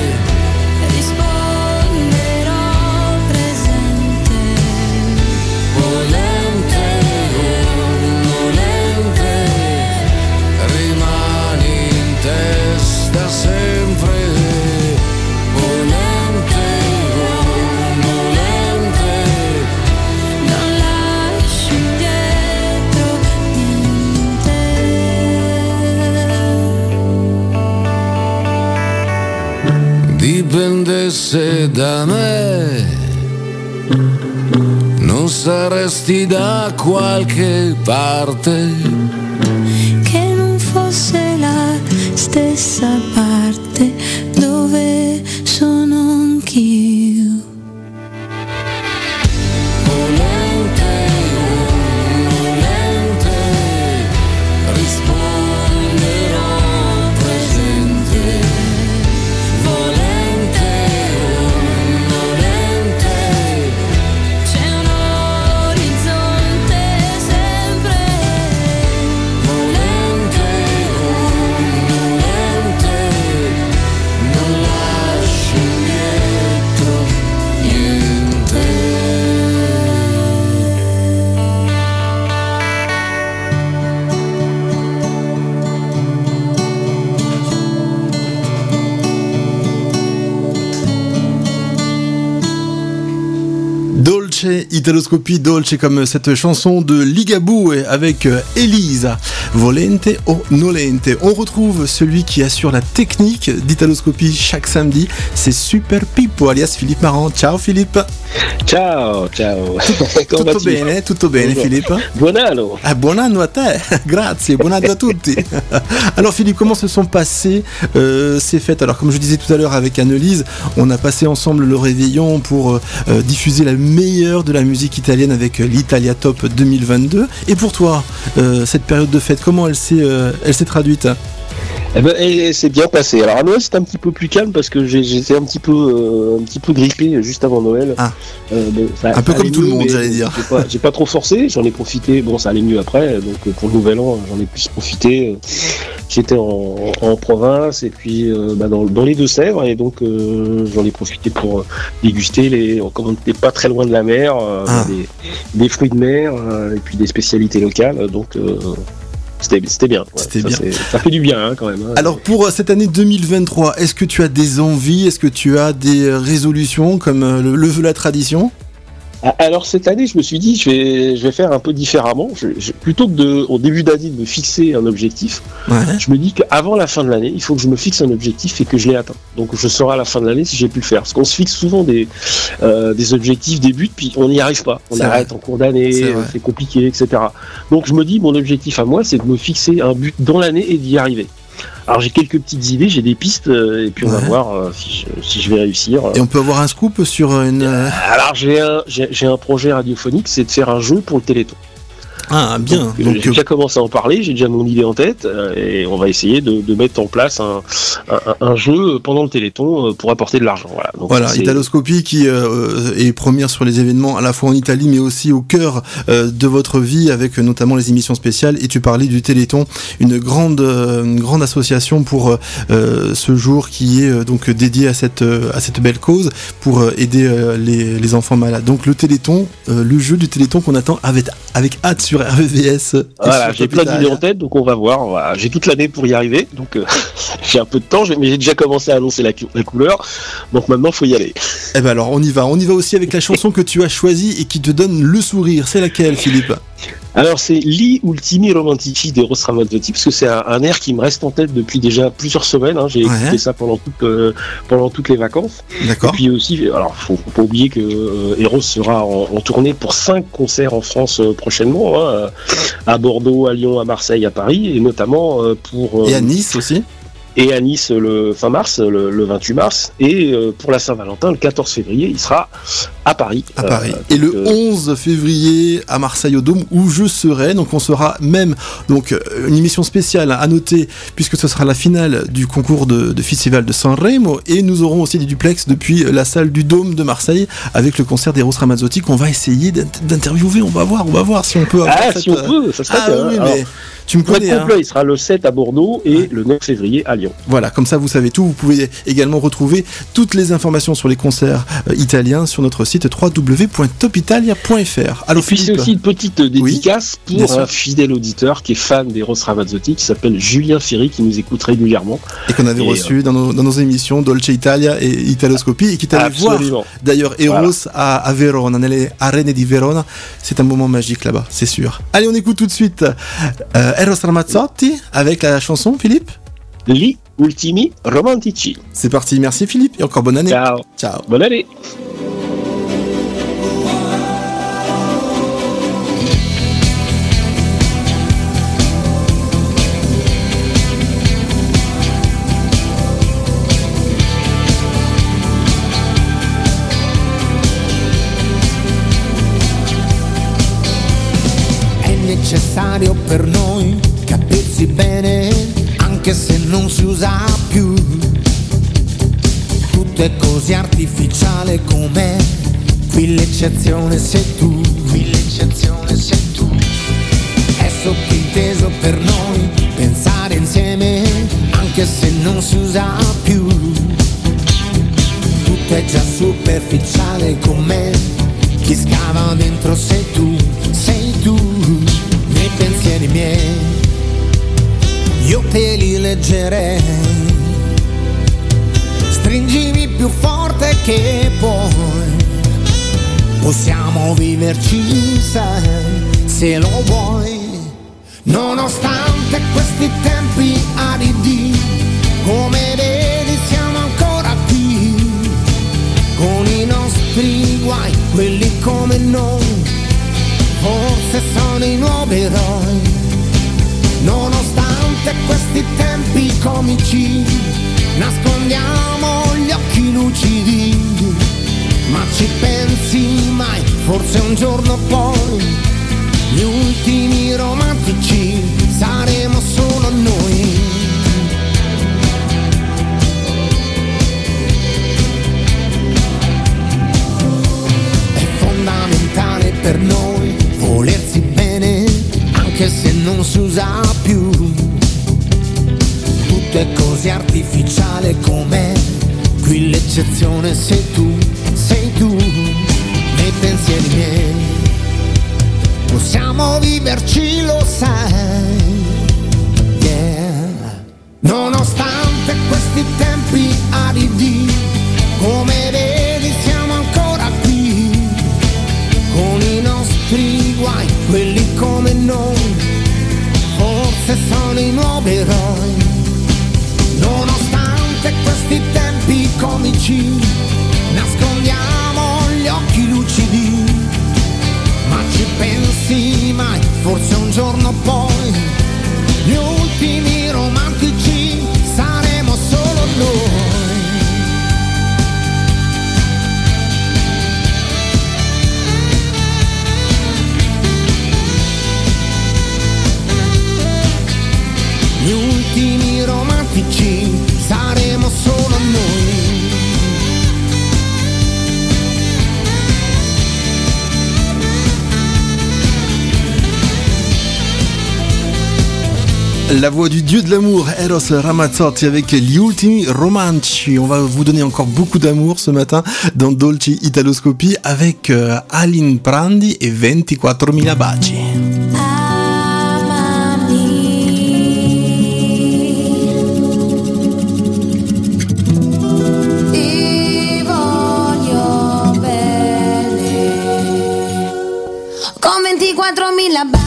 Risponderò presente. volente o nolente, rimani in testa sempre. Volente o nolente, Non lascio indietro niente. dipendesse da me, non saresti da qualche parte. Che non fosse la stessa parte dove sono anch'io. Volente o nolente, risponderò presente. Volente o nolente, C'è un orizzonte sempre. volente o nolente, Dolce, Italoscopie Dolce, comme cette chanson de Ligabue avec Elisa, Volente o Nolente. On retrouve celui qui assure la technique d'Italoscopie chaque samedi, c'est Super Pippo, alias Philippe Marant. Ciao Philippe. Ciao, ciao. Tutto bene, tutto bene Philippe. Buon anno. Ah, buon anno a te, grazie, buon anno a tutti. Alors Philippe, comment se sont passées euh, ces fêtes? Alors comme je disais tout à l'heure avec Annelise, on a passé ensemble le réveillon pour euh, diffuser la meilleure de la musique italienne avec l'Italia Top deux mille vingt-deux. Et pour toi, euh, cette période de fête, comment elle s'est, euh, elle s'est traduite? Eh ben, et c'est bien passé. Alors à Noël c'était un petit peu plus calme parce que j'ai, j'étais un petit peu, euh, un petit peu grippé juste avant Noël. Ah. Euh, bon, ça, un peu ça comme tout mieux, le monde, j'allais dire. J'ai pas, j'ai pas trop forcé, j'en ai profité. Bon, ça allait mieux après. Donc pour le Nouvel An, j'en ai plus profité. J'étais en, en province et puis euh, bah, dans, dans les Deux-Sèvres et donc euh, j'en ai profité pour déguster les. Comme on n'était pas très loin de la mer, euh, ah. des, des fruits de mer euh, et puis des spécialités locales. Donc euh, C'était, c'était bien, ouais. C'était ça, bien. C'est, ça fait du bien hein, quand même. Hein. Alors pour cette année deux mille vingt-trois, est-ce que tu as des envies, est-ce que tu as des résolutions comme le, le veut la tradition? Alors cette année, je me suis dit, je vais, je vais faire un peu différemment. Je, je, plutôt que de, au début d'année, de me fixer un objectif, ouais. je me dis qu'avant la fin de l'année, il faut que je me fixe un objectif et que je l'ai atteint. Donc je saurai à la fin de l'année si j'ai pu le faire. Parce qu'on se fixe souvent des, euh, des objectifs, des buts, puis on n'y arrive pas. On c'est arrête vrai. En cours d'année, c'est, c'est compliqué, et cetera. Donc je me dis, mon objectif à moi, c'est de me fixer un but dans l'année et d'y arriver. Alors j'ai quelques petites idées, j'ai des pistes, euh, et puis on ouais. va voir euh, si, je, si je vais réussir. Et on peut avoir un scoop sur une... Euh, alors j'ai un, j'ai, j'ai un projet radiophonique, c'est de faire un jeu pour le Téléthon. Ah bien. Donc, donc, j'ai déjà commencé à en parler, j'ai déjà mon idée en tête euh, et on va essayer de, de mettre en place un, un, un jeu pendant le Téléthon pour apporter de l'argent. Voilà, donc, voilà Italoscopie qui euh, est première sur les événements à la fois en Italie mais aussi au cœur euh, de votre vie avec notamment les émissions spéciales. Et tu parlais du Téléthon, une grande, euh, une grande association pour euh, ce jour qui est euh, donc dédié à cette, euh, à cette belle cause pour euh, aider euh, les, les enfants malades. Donc le Téléthon, euh, le jeu du Téléthon qu'on attend avec, avec hâte sur R V V S. Voilà, j'ai plein d'idées en tête, donc on va voir. Voilà. J'ai toute l'année pour y arriver, donc euh, j'ai un peu de temps, mais j'ai déjà commencé à annoncer la, la couleur, donc maintenant il faut y aller. Eh ben alors on y va, on y va aussi avec la chanson que tu as choisie et qui te donne le sourire. C'est laquelle, Philippe? Alors c'est Gli ultimi romantici d'Eros Ramazzotti, parce que c'est un, un air qui me reste en tête depuis déjà plusieurs semaines. Hein. J'ai ouais. écouté ça pendant, toute, euh, pendant toutes les vacances. D'accord. Et puis aussi, alors faut, faut pas oublier que euh, Eros sera en, en tournée pour cinq concerts en France euh, prochainement, hein, à Bordeaux, à Lyon, à Marseille, à Paris, et notamment euh, pour... Euh, et à Nice aussi. Et à Nice le fin mars, le, le vingt-huit mars, et euh, pour la Saint-Valentin, le quatorze février, il sera à Paris. À euh, Paris. Et le euh... onze février à Marseille au Dôme, où je serai. Donc on sera même donc une émission spéciale à noter, puisque ce sera la finale du concours de, de festival de Sanremo, et nous aurons aussi des duplex depuis la salle du Dôme de Marseille avec le concert d'Eros Ramazzotti qu'on va essayer d'interviewer. On va voir, on va voir si on peut. Avoir ah cette... si on peut, ça serait. Ah oui, alors, mais tu me connais. Complet, hein. Il sera le sept à Bordeaux et ouais. le neuf février à Lyon. Voilà, comme ça vous savez tout. Vous pouvez également retrouver toutes les informations sur les concerts euh, italiens sur notre site w w w point top italia point f r. Alors, et puis c'est aussi une petite dédicace oui, pour un fidèle auditeur qui est fan d'Eros Ramazzotti, qui s'appelle Julien Ferry, qui nous écoute régulièrement. Et qu'on avait et reçu euh... dans, nos, dans nos émissions Dolce Italia et Italoscopie, et qui t'allait voir d'ailleurs Eros voilà. à, à Verona, nelle arene di Verona. C'est un moment magique là-bas, c'est sûr. Allez, on écoute tout de suite euh, Eros Ramazzotti avec la chanson, Philippe. Gli ultimi romantici. C'est parti, merci Philippe, et encore bonne année. Ciao. Ciao. Bonne année. È necessario per noi capirsi bene, anche se non si usa più. Tutto è così artificiale com'è. Qui l'eccezione sei tu. Qui l'eccezione sei tu. È sottinteso per noi pensare insieme, anche se non si usa più. Tutto è già superficiale com'è. Chi scava dentro sei tu, sei tu. Nei pensieri miei io te li leggerei, stringimi più forte che puoi, possiamo viverci, sai, se lo vuoi. Nonostante questi tempi aridi, come vedi siamo ancora qui, con i nostri guai, quelli come noi, forse sono i nuovi eroi. Nonostante questi tempi comici, nascondiamo gli occhi lucidi, ma ci pensi mai, forse un giorno poi gli ultimi romantici saremo solo noi. È fondamentale per noi volersi bene, anche se non si usa più. Tutto è così artificiale com'è, qui l'eccezione sei tu, sei tu, nei pensieri miei. Possiamo viverci, lo sai, yeah. Nonostante questi tempi aridi, come vedi siamo ancora qui, con i nostri guai, quelli come noi, forse sono i nuovi eroi. Nonostante questi tempi comici, nascondiamo gli occhi lucidi, ma ci pensi mai, forse un giorno poi gli ultimi romantici saremo solo noi. Gli ultimi romantici saremo solo noi. La voix du dieu de l'amour, Eros Ramazzotti, avec gli ultimi romantici. On va vous donner encore beaucoup d'amour ce matin dans Dolce Italoscopie avec euh, Aline Prandi et ventiquattromila baci. Ti voglio bene, con ventiquattromila baci.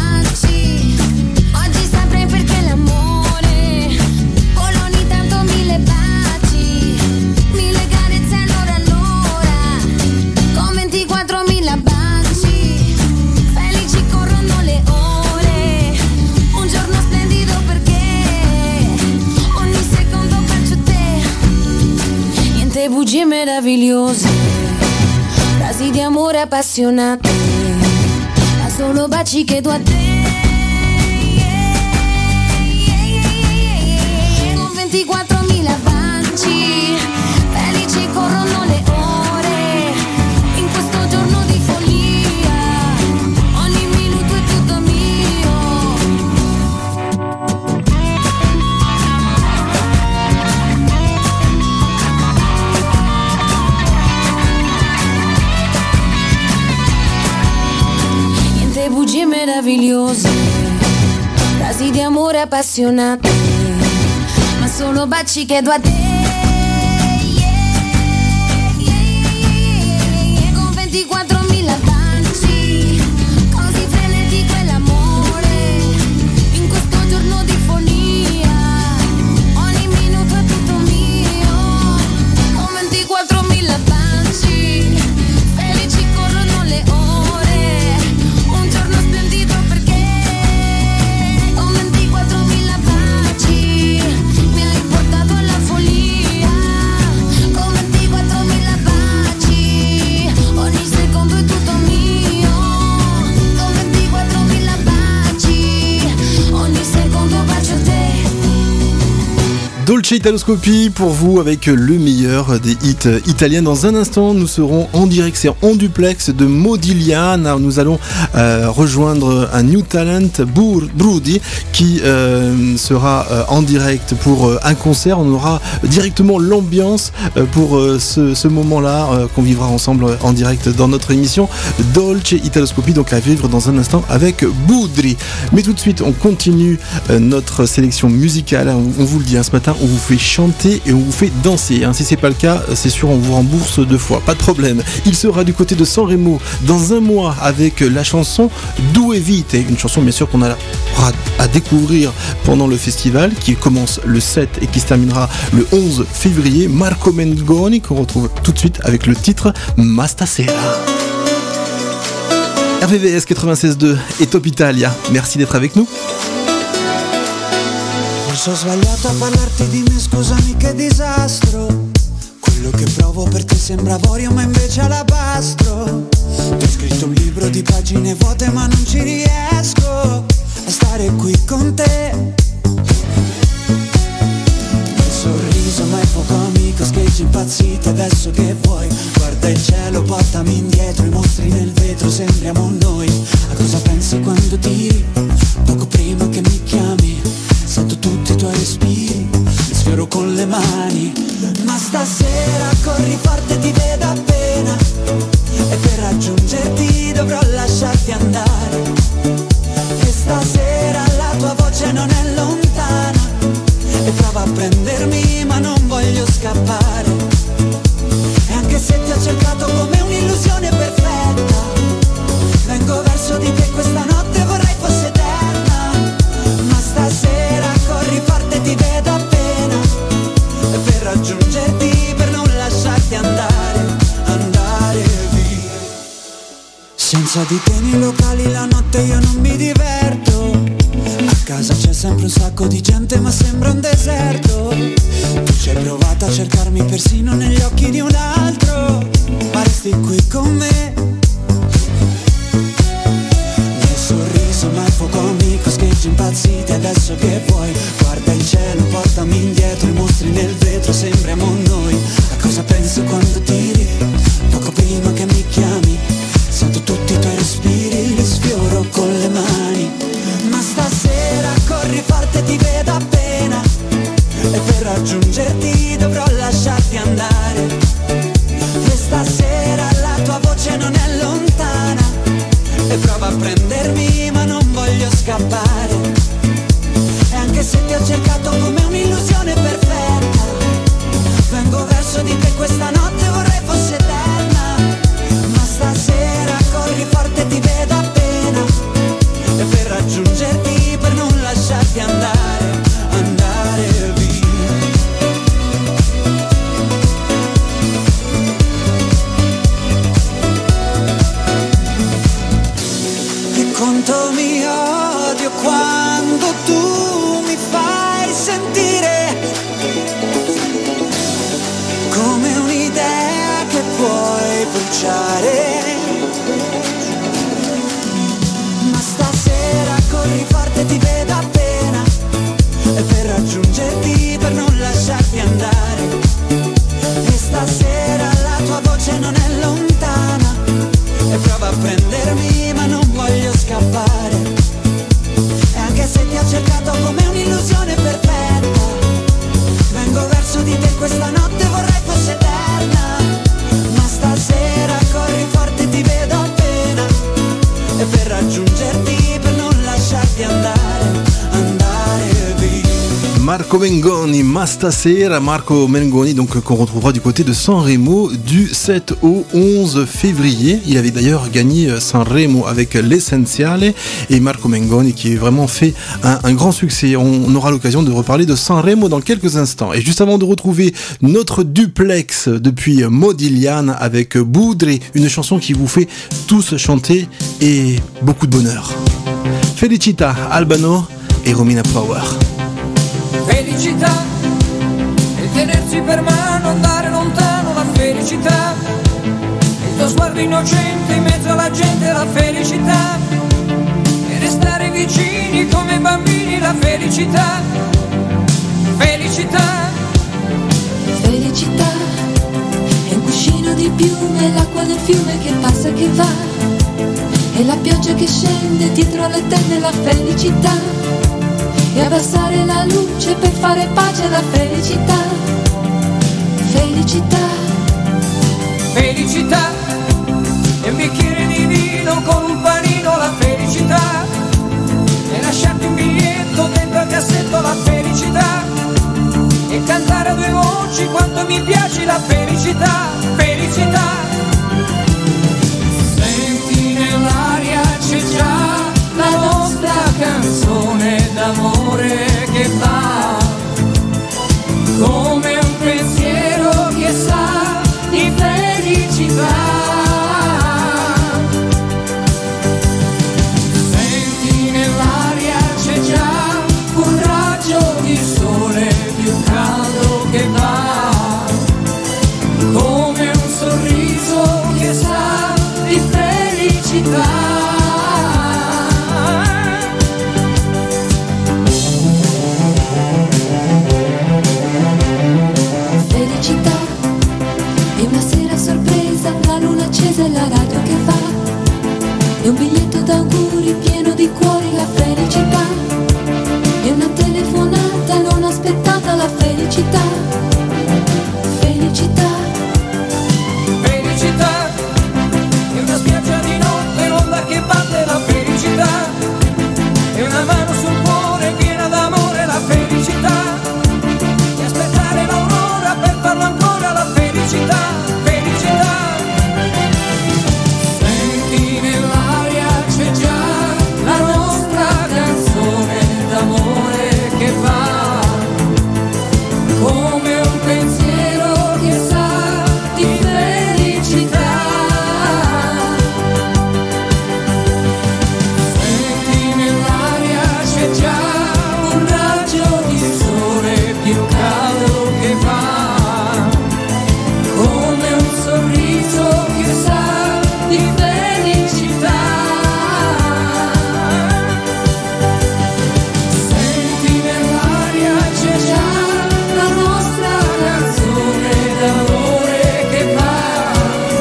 Bugie meravigliose, frasi di amore appassionate, ma solo baci che do a te. Con ventiquattromila baci, felici corrono le ore, in questo giorno di follia, ogni minuto è tutto mio. Bugie meravigliose, frasi di amore appassionate, ma solo baci che do a te. Con ventiquattromila baci, così frenetico è l'amore, in questo giorno di follia, ogni minuto è tutto mio. Con ventiquattromila baci, felici corrono le ore. Dolce Italoscopie pour vous avec le meilleur des hits italiens. Dans un instant, nous serons en direct, c'est en duplex de Modigliana. Nous allons euh, rejoindre un new talent, Bur- Brudi, qui euh, sera euh, en direct pour euh, un concert. On aura directement l'ambiance euh, pour euh, ce, ce moment-là euh, qu'on vivra ensemble en direct dans notre émission Dolce Italoscopie, donc à vivre dans un instant avec Boudri. Mais tout de suite, on continue euh, notre sélection musicale. On, on vous le dit hein, ce matin, on vous fait chanter et on vous fait danser. Hein. Si c'est pas le cas, c'est sûr, on vous rembourse deux fois, pas de problème. Il sera du côté de Sanremo dans un mois avec la chanson Due Vite, une chanson bien sûr qu'on aura à découvrir pendant le festival qui commence le sept et qui se terminera le onze février. Marco Mengoni qu'on retrouve tout de suite avec le titre Ma Stasera. R V V S quatre-vingt-seize deux et Top Italia, merci d'être avec nous. Forse ho sbagliato a parlarti di me, scusami che disastro. Quello che provo per te sembra avorio ma invece alabastro. Ti ho scritto un libro di pagine vuote ma non ci riesco a stare qui con te. Il sorriso ma è poco amico, scheggi impazzite adesso che vuoi. Guarda il cielo, portami indietro, i mostri nel vetro, sembriamo noi. A cosa pensi quando tiri? Poco prima che mi chiami sento tutti i tuoi respiri, li sfioro con le mani. Ma stasera corri forte, ti vedo appena, e per raggiungerti dovrò lasciarti andare. E stasera la tua voce non è lontana, e prova a prendermi ma non voglio scappare. E anche se ti ho cercato come un'illusione perfetta, vengo verso di te questa notte, vorrei fosse eterna. Ma stasera corri forte, ti vedo appena, e per raggiungerti, per non lasciarti andare, andare via. Senza di te nei locali la notte io non mi diverto. A casa c'è sempre un sacco di gente ma sembra un deserto. Tu ci hai provato a cercarmi persino negli occhi di un altro, ma resti qui con me. Nel sorriso ma è poco amico, scheggi impazziti adesso che vuoi. Guarda il cielo, portami indietro, i mostri nel vetro, sembriamo noi. A cosa penso quando tiri? Poco prima che mi chiami sento tutti i tuoi respiri, li sfioro con le mani. Ma stasera corri forte, ti vedo appena, e per raggiungerti dovrò lasciarti andare. E stasera la tua voce non è lontana, e prova a prendermi ma non voglio scappare. E anche se ti ho cercato come un'illusione perfetta, vengo verso di te questa notte, vorrei fosse eterna. Ma stasera corri forte, ti vedo appena, e per raggiungerti, per non lasciarti andare, andare via. E quanto mi odio quando tu mi fai sentire come un'idea che puoi bruciare. Ma stasera corri forte, ti vedo appena, e per raggiungerti, per non lasciarti andare. E stasera la tua voce non è lontana, e prova a prendermi ma non voglio scappare. E anche se ti ho cercato come un'illusione perfetta, vengo verso di te questa notte, vorrei fosse eterna. Ma stasera corri forte, ti vedo appena, e per raggiungerti, per non lasciarti andare, andare via. Marco Mengoni, Ma Stasera, Marco Mengoni, donc qu'on retrouvera du côté de Sanremo du sept au onze février. Il avait d'ailleurs gagné Sanremo avec l'Essenziale, et Marco Mengoni qui a vraiment fait un, un grand succès. On aura l'occasion de reparler de Sanremo dans quelques instants. Et juste avant de retrouver notre duplex depuis Modigliane avec Budri, une chanson qui vous fait tous chanter et beaucoup de bonheur. Felicita, Albano e Romina Power. Felicità e tenersi per mano, andare lontano, la felicità, il tuo sguardo innocente in mezzo alla gente, la felicità, e restare vicini come bambini, la felicità, felicità. Felicità è un cuscino di piume, l'acqua del fiume che passa e che va, e la pioggia che scende dietro le tende, la felicità. E abbassare la luce per fare pace alla felicità, felicità. Felicità e un bicchiere di vino con un panino, la felicità, e lasciarti un biglietto dentro al cassetto, la felicità, e quando mi piaci la felicità, felicità. Senti nell'aria c'è già la nostra canzone d'amore che va come un pensiero che sa di felicità. Senti nell'aria c'è già un raggio di sole più caldo che va come un sorriso che sa di felicità. Felicità è una sera sorpresa, la luna accesa e la radio che fa, è un biglietto d'auguri pieno di cuori, la felicità è una telefonata non aspettata, la felicità, felicità. Felicità è una spiaggia di notte, l'onda che batte, la felicità è una mano sul cuore piena d'amore, la felicità di aspettare l'aurora per farlo ancora, la felicità, felicità. Senti nell'aria c'è già la nostra canzone d'amore che va come un pensiero che sa di felicità. Senti nell'aria c'è già un raggio di sole più caldo che va come un sorriso che sa di felicità. Senti nell'aria c'è già la nostra canzone d'amore che va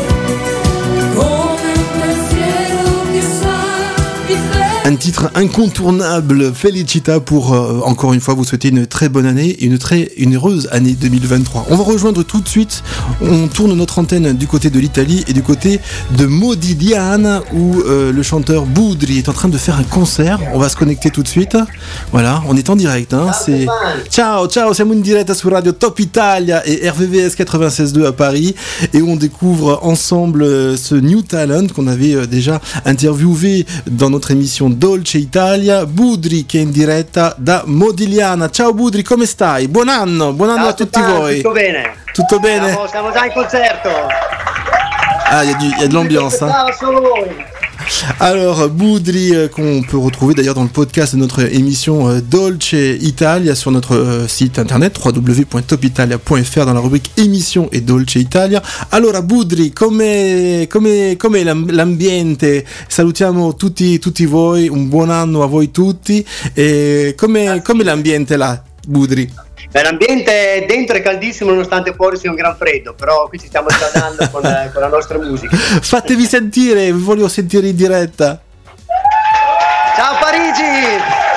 come un pensiero che sa di felicità. Un titre incontournable, Felicita, pour euh, encore une fois vous souhaiter une très bonne année et une très une heureuse année deux mille vingt-trois. On va rejoindre tout de suite, on tourne notre antenne du côté de l'Italie et du côté de Modigliana où euh, le chanteur Boudri est en train de faire un concert. On va se connecter tout de suite. Voilà, on est en direct. Hein, c'est... Ciao, ciao, siamo in diretta su Radio Top Italia et R V V S quatre-vingt-seize deux à Paris et on découvre ensemble euh, ce new talent qu'on avait euh, déjà interviewé dans notre émission Dolce Italia, Boudri che è in diretta da Modigliana. Ciao Boudri, come stai? Buon anno, buon anno Ciao a tutti Stefano, voi. tutto bene? Tutto bene? Siamo, siamo già in concerto. Ah, il y, y a de l'ambiance. Hein. Solo voi. Alors, Boudri, euh, qu'on peut retrouver d'ailleurs dans le podcast de notre émission euh, Dolce Italia sur notre euh, site internet w w w point top italia point f r dans la rubrique émission et Dolce Italia. Allora, Boudri, come, come, come l'ambiente? Salutiamo tutti, tutti voi, un buon anno a voi tutti. E come, come l'ambiente là, Boudri? Beh, l'ambiente dentro è caldissimo nonostante fuori sia un gran freddo, però qui ci stiamo scaldando con, con la nostra musica. Fatevi sentire, vi voglio sentire in diretta. Ciao Parigi!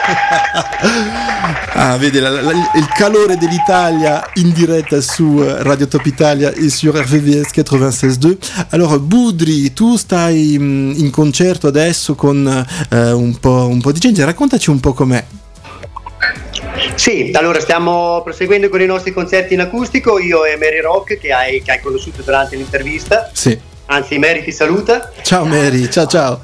Ah, vedi la, la, il calore dell'Italia in diretta su Radio Top Italia e su R V V S quatre-vingt-seize deux. Alors Boudri, tu stai in concerto adesso con eh, un, po', un po' di gente, raccontaci un po' com'è. Sì, allora stiamo proseguendo con i nostri concerti in acustico, io e Mary Rock che hai, che hai conosciuto durante l'intervista. Sì. Anzi, Mary ti saluta. Ciao Mary, ciao ciao.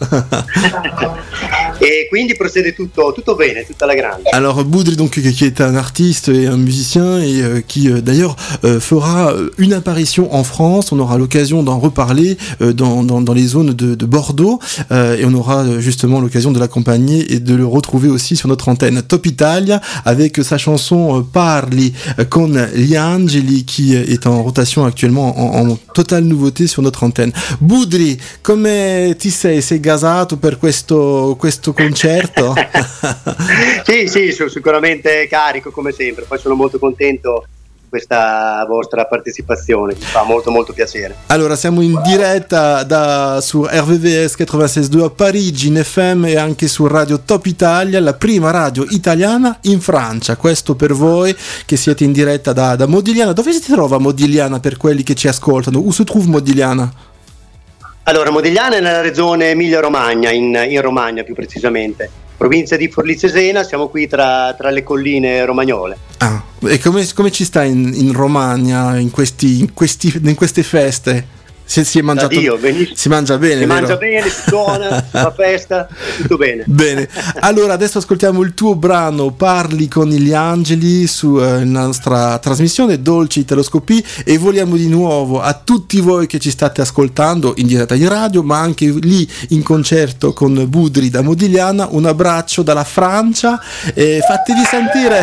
Et quindi procède tutto, tutto bene, tutta la grande. Alors Boudri, donc, qui est un artiste et un musicien et euh, qui euh, d'ailleurs euh, fera une apparition en France. On aura l'occasion d'en reparler euh, dans, dans, dans les zones de, de Bordeaux euh, et on aura euh, justement l'occasion de l'accompagner et de le retrouver aussi sur notre antenne Top Italia avec sa chanson euh, Parli con gli angeli qui est en rotation actuellement en, en totale nouveauté sur notre antenne. Boudri, come ti sei? Sei gasato per questo, questo concerto? Sì, sì, sono sicuramente carico come sempre, poi sono molto contento di questa vostra partecipazione, mi fa molto molto piacere. Allora, siamo in diretta da, su R V V S quatre-vingt-seize deux a Parigi, in F M e anche su Radio Top Italia, la prima radio italiana in Francia. Questo per voi che siete in diretta da, da Modigliana. Dove si trova Modigliana per quelli che ci ascoltano? Où si trova Modigliana? Allora, Modigliana è nella regione Emilia-Romagna, in, in Romagna più precisamente. provincia di Forlì Cesena, siamo qui tra, tra le colline romagnole. Ah, e come, come ci sta in, in Romagna in, questi, in, questi, in queste feste? Si, si è mangiato, Dio, si mangia bene, si vero? mangia bene, si suona, si fa festa, tutto bene. Bene, allora adesso ascoltiamo il tuo brano Parli con gli angeli sulla eh, nostra trasmissione Dolce Italoscopie e vogliamo di nuovo a tutti voi che ci state ascoltando in diretta in radio ma anche lì in concerto con Budri da Modigliana un abbraccio dalla Francia e fatevi sentire.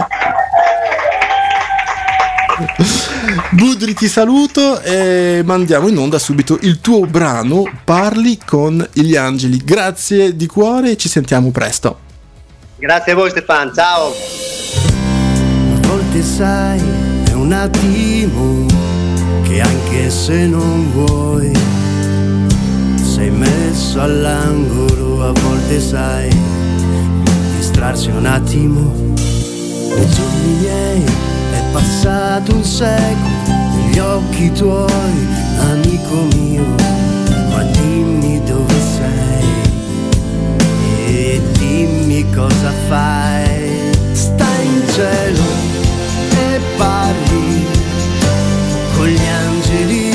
Budri, ti saluto e mandiamo in onda subito il tuo brano Parli con gli angeli. Grazie di cuore e ci sentiamo presto. Grazie a voi Stefano, ciao. A volte sai è un attimo che anche se non vuoi sei messo all'angolo. A volte sai distrarsi un attimo. Nei giorni miei è passato un secolo, negli occhi tuoi, amico mio, ma dimmi dove sei e dimmi cosa fai. Stai in cielo e parli con gli angeli,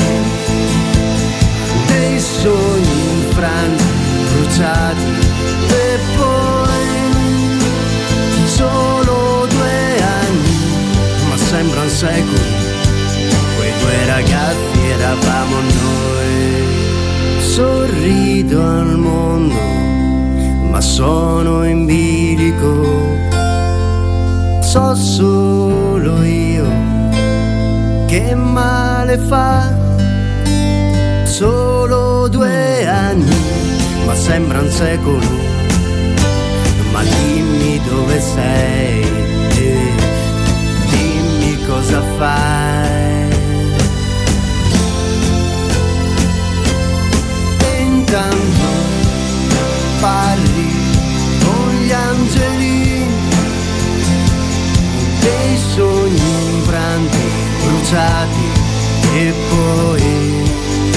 dei sogni infranti, bruciati e poi solo due anni sembrano secoli, quei due ragazzi eravamo noi. Sorrido al mondo, ma sono in bilico. So solo io che male fa. Solo due anni, ma sembra un secolo. Ma dimmi dove sei. Cosa fai? E intanto parli con gli angeli, dei sogni infranti, bruciati e poi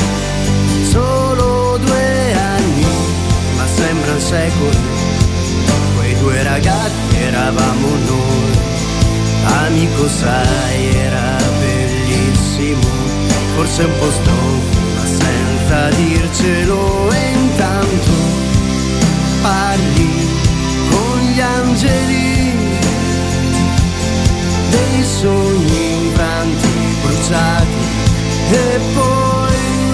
solo due anni, ma sembrano secoli, quei due ragazzi eravamo noi. Amico sai era bellissimo, forse un po' stonco ma senza dircelo. E intanto parli con gli angeli, dei sogni infranti, bruciati e poi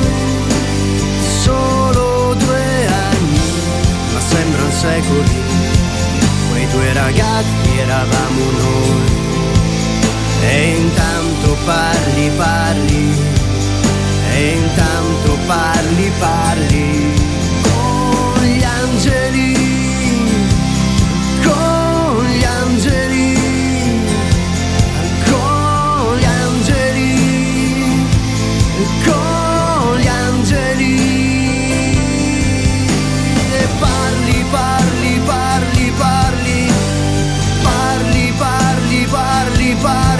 solo due anni, ma sembrano secoli, quei due ragazzi eravamo noi. E intanto parli, parli, e intanto parli, parli con gli angeli, con gli angeli, con gli angeli, con gli angeli. E parli, parli, parli, parli, parli, parli, parli, parli.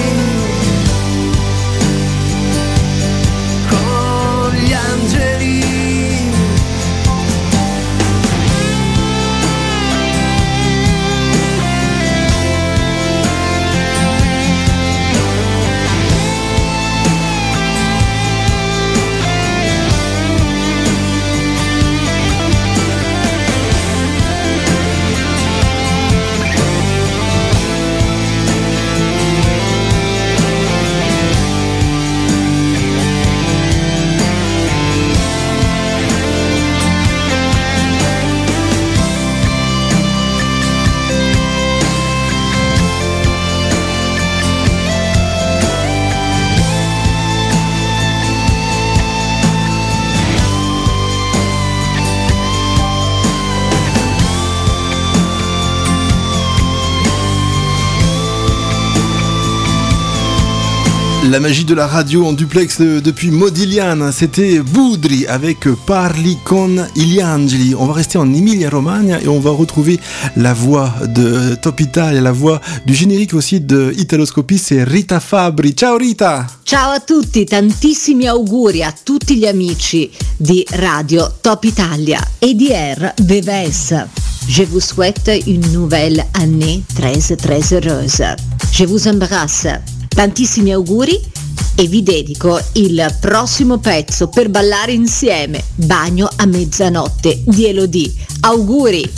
La magie de la radio en duplex de, depuis Modigliana, c'était Budri avec Parli con gli angeli. On va rester en Emilia-Romagna et on va retrouver la voix de Top Italia, la voix du générique aussi de Italoscopie, c'est Rita Fabbri. Ciao Rita! Ciao a tutti, tantissimi auguri a tutti gli amici di Radio Top Italia e di R V V S. je vous souhaite une nouvelle année très très heureuse. Je vous embrasse, tantissimi auguri e vi dedico il prossimo pezzo per ballare insieme, Bagno a mezzanotte di Elodie. Auguri!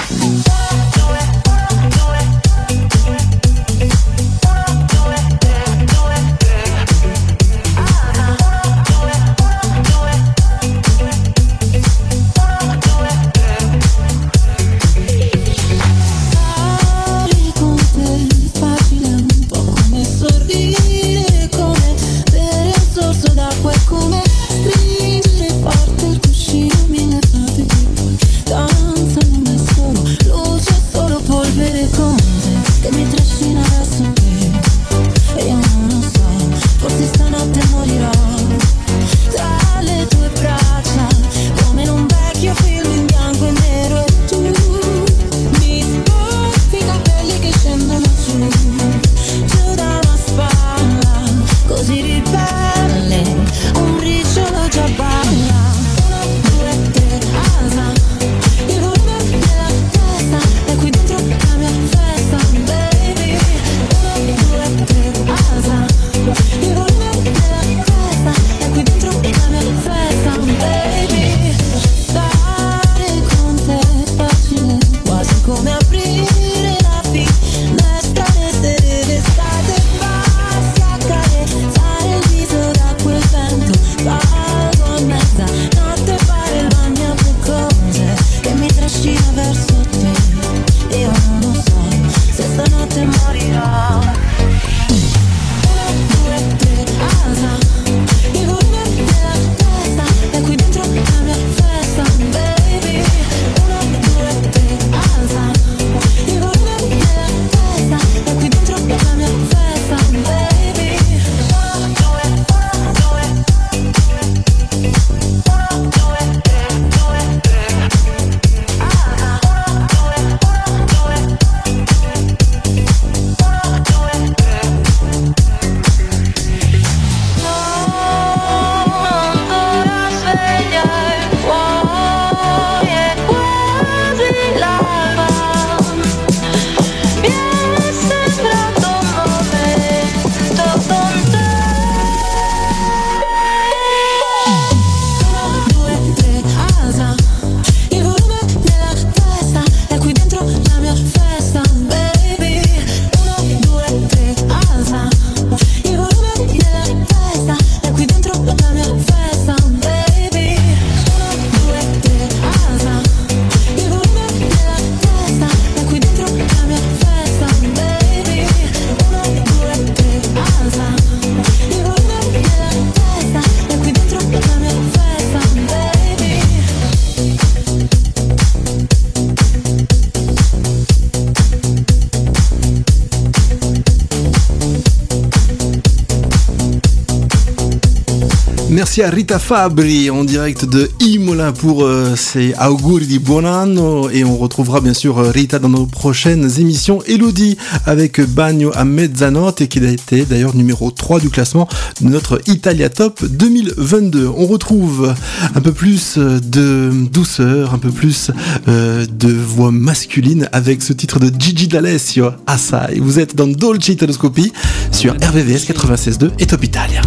Merci à Rita Fabri en direct de Imola pour euh, ses auguri di buon anno, et on retrouvera bien sûr Rita dans nos prochaines émissions. Elodie avec Bagno a mezzanotte, et qui a été d'ailleurs numéro trois du classement de notre Italia Top deux mille vingt-deux. On retrouve un peu plus de douceur, un peu plus euh, de voix masculine avec ce titre de Gigi D'Alessio, Assai. Vous êtes dans Dolce Italoscopie sur R V V S quatre-vingt-seize virgole deux e Top Italia.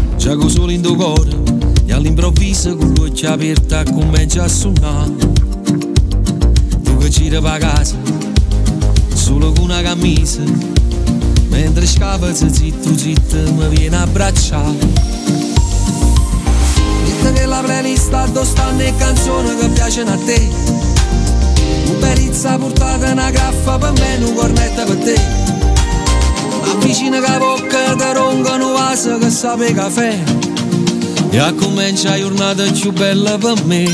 E all'improvviso con l'occhio aperta comincia a suonare. Tu che gira per casa solo con una camisa, mentre scappa zitto zitto mi viene a abbracciare. Dite che la playlist addosso stanno le canzoni che piacciono a te, un perizza portata una graffa per me, un cornetta per te. Avvicina che bocca ti roncano vaso che sape caffè, e a comincia la giornata più bella per me.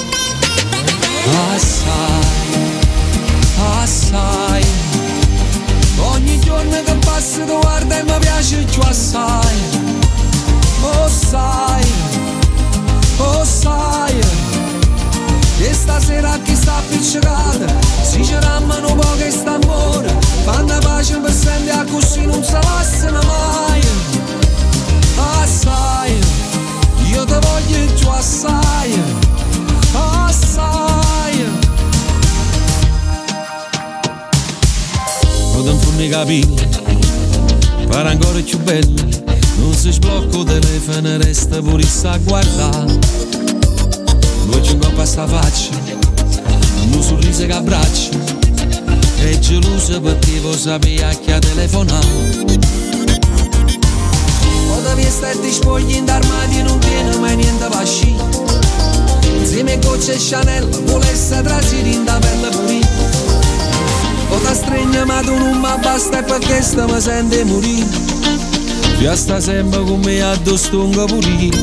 Assai, assai, ogni giorno che passa tu guarda e mi piace più assai. Oh sai, oh sai, e stasera chi sta appiccicata si ci rammano poco e sta amore, fanno pace per sempre a così non si passano mai. Assai, io te voglio giù assai, assai. capire, pare ancora più bello, non si sblocca il telefono, resta pure a guardare. Lui ci incoppa sta faccia, un sorriso che abbraccia, e geloso perché voi sapeva che ha telefonato. O devi stare spogli in armadi, non tiene mai niente pasci. Insieme gocce e Chanel, volesse trasire in da pelle pulita. O ti stringe ma tu non mi basta, e perché sta mi sente morire. Io sta sempre con me addosso un capurino.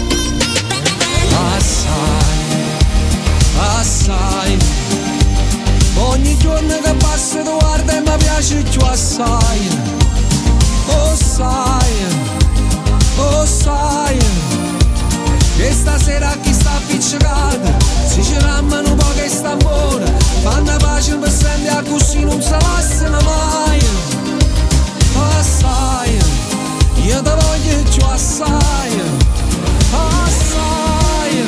Assai, assai, ogni giorno che passa tu guarda e mi piace più assai. Oh sai, oh sai, che stasera chi sta appiccicato si ci rammano un po' che sta buona, fanno pace per sempre a così non si passano mai. Assai, io te voglio più assai, assai.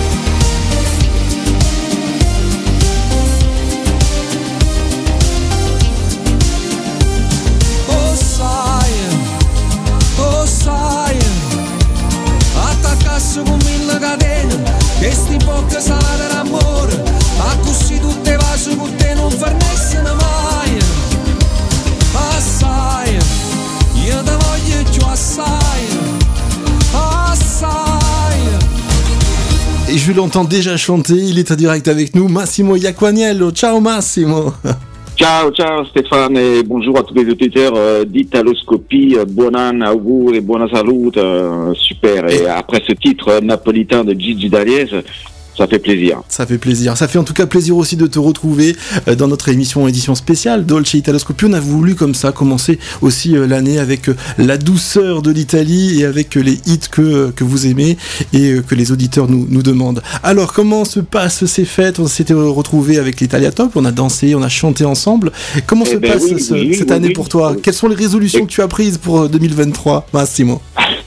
Oh sai, oh sai, attaccasse con mille catene, che sti bocche salate d'amore, a così tutte vaso con te non farnessero mai. Assai, io te voglio più assai, assai. Et je l'entends déjà chanter, il est en direct avec nous, Massimo Iaquaniello. Ciao Massimo. Ciao, ciao Stéphane et bonjour à tous les auditeurs euh, d'Italoscopie, euh, buon anno, auguri, buona salute, euh, super. Et après ce titre euh, napolitain de Gigi D'Aliese, ça fait plaisir. Ça fait plaisir. Ça fait en tout cas plaisir aussi de te retrouver euh, dans notre émission édition spéciale Dolce Italoscopie. On a voulu comme ça commencer aussi euh, l'année avec euh, la douceur de l'Italie et avec euh, les hits que, euh, que vous aimez et euh, que les auditeurs nous, nous demandent. Alors comment se passent ces fêtes? On s'était retrouvés avec l'Italia Top, on a dansé, on a chanté ensemble. Comment eh se ben passe oui, ce, oui, cette oui, année oui, pour toi oui. Quelles sont les résolutions et... que tu as prises pour deux mille vingt-trois, Massimo?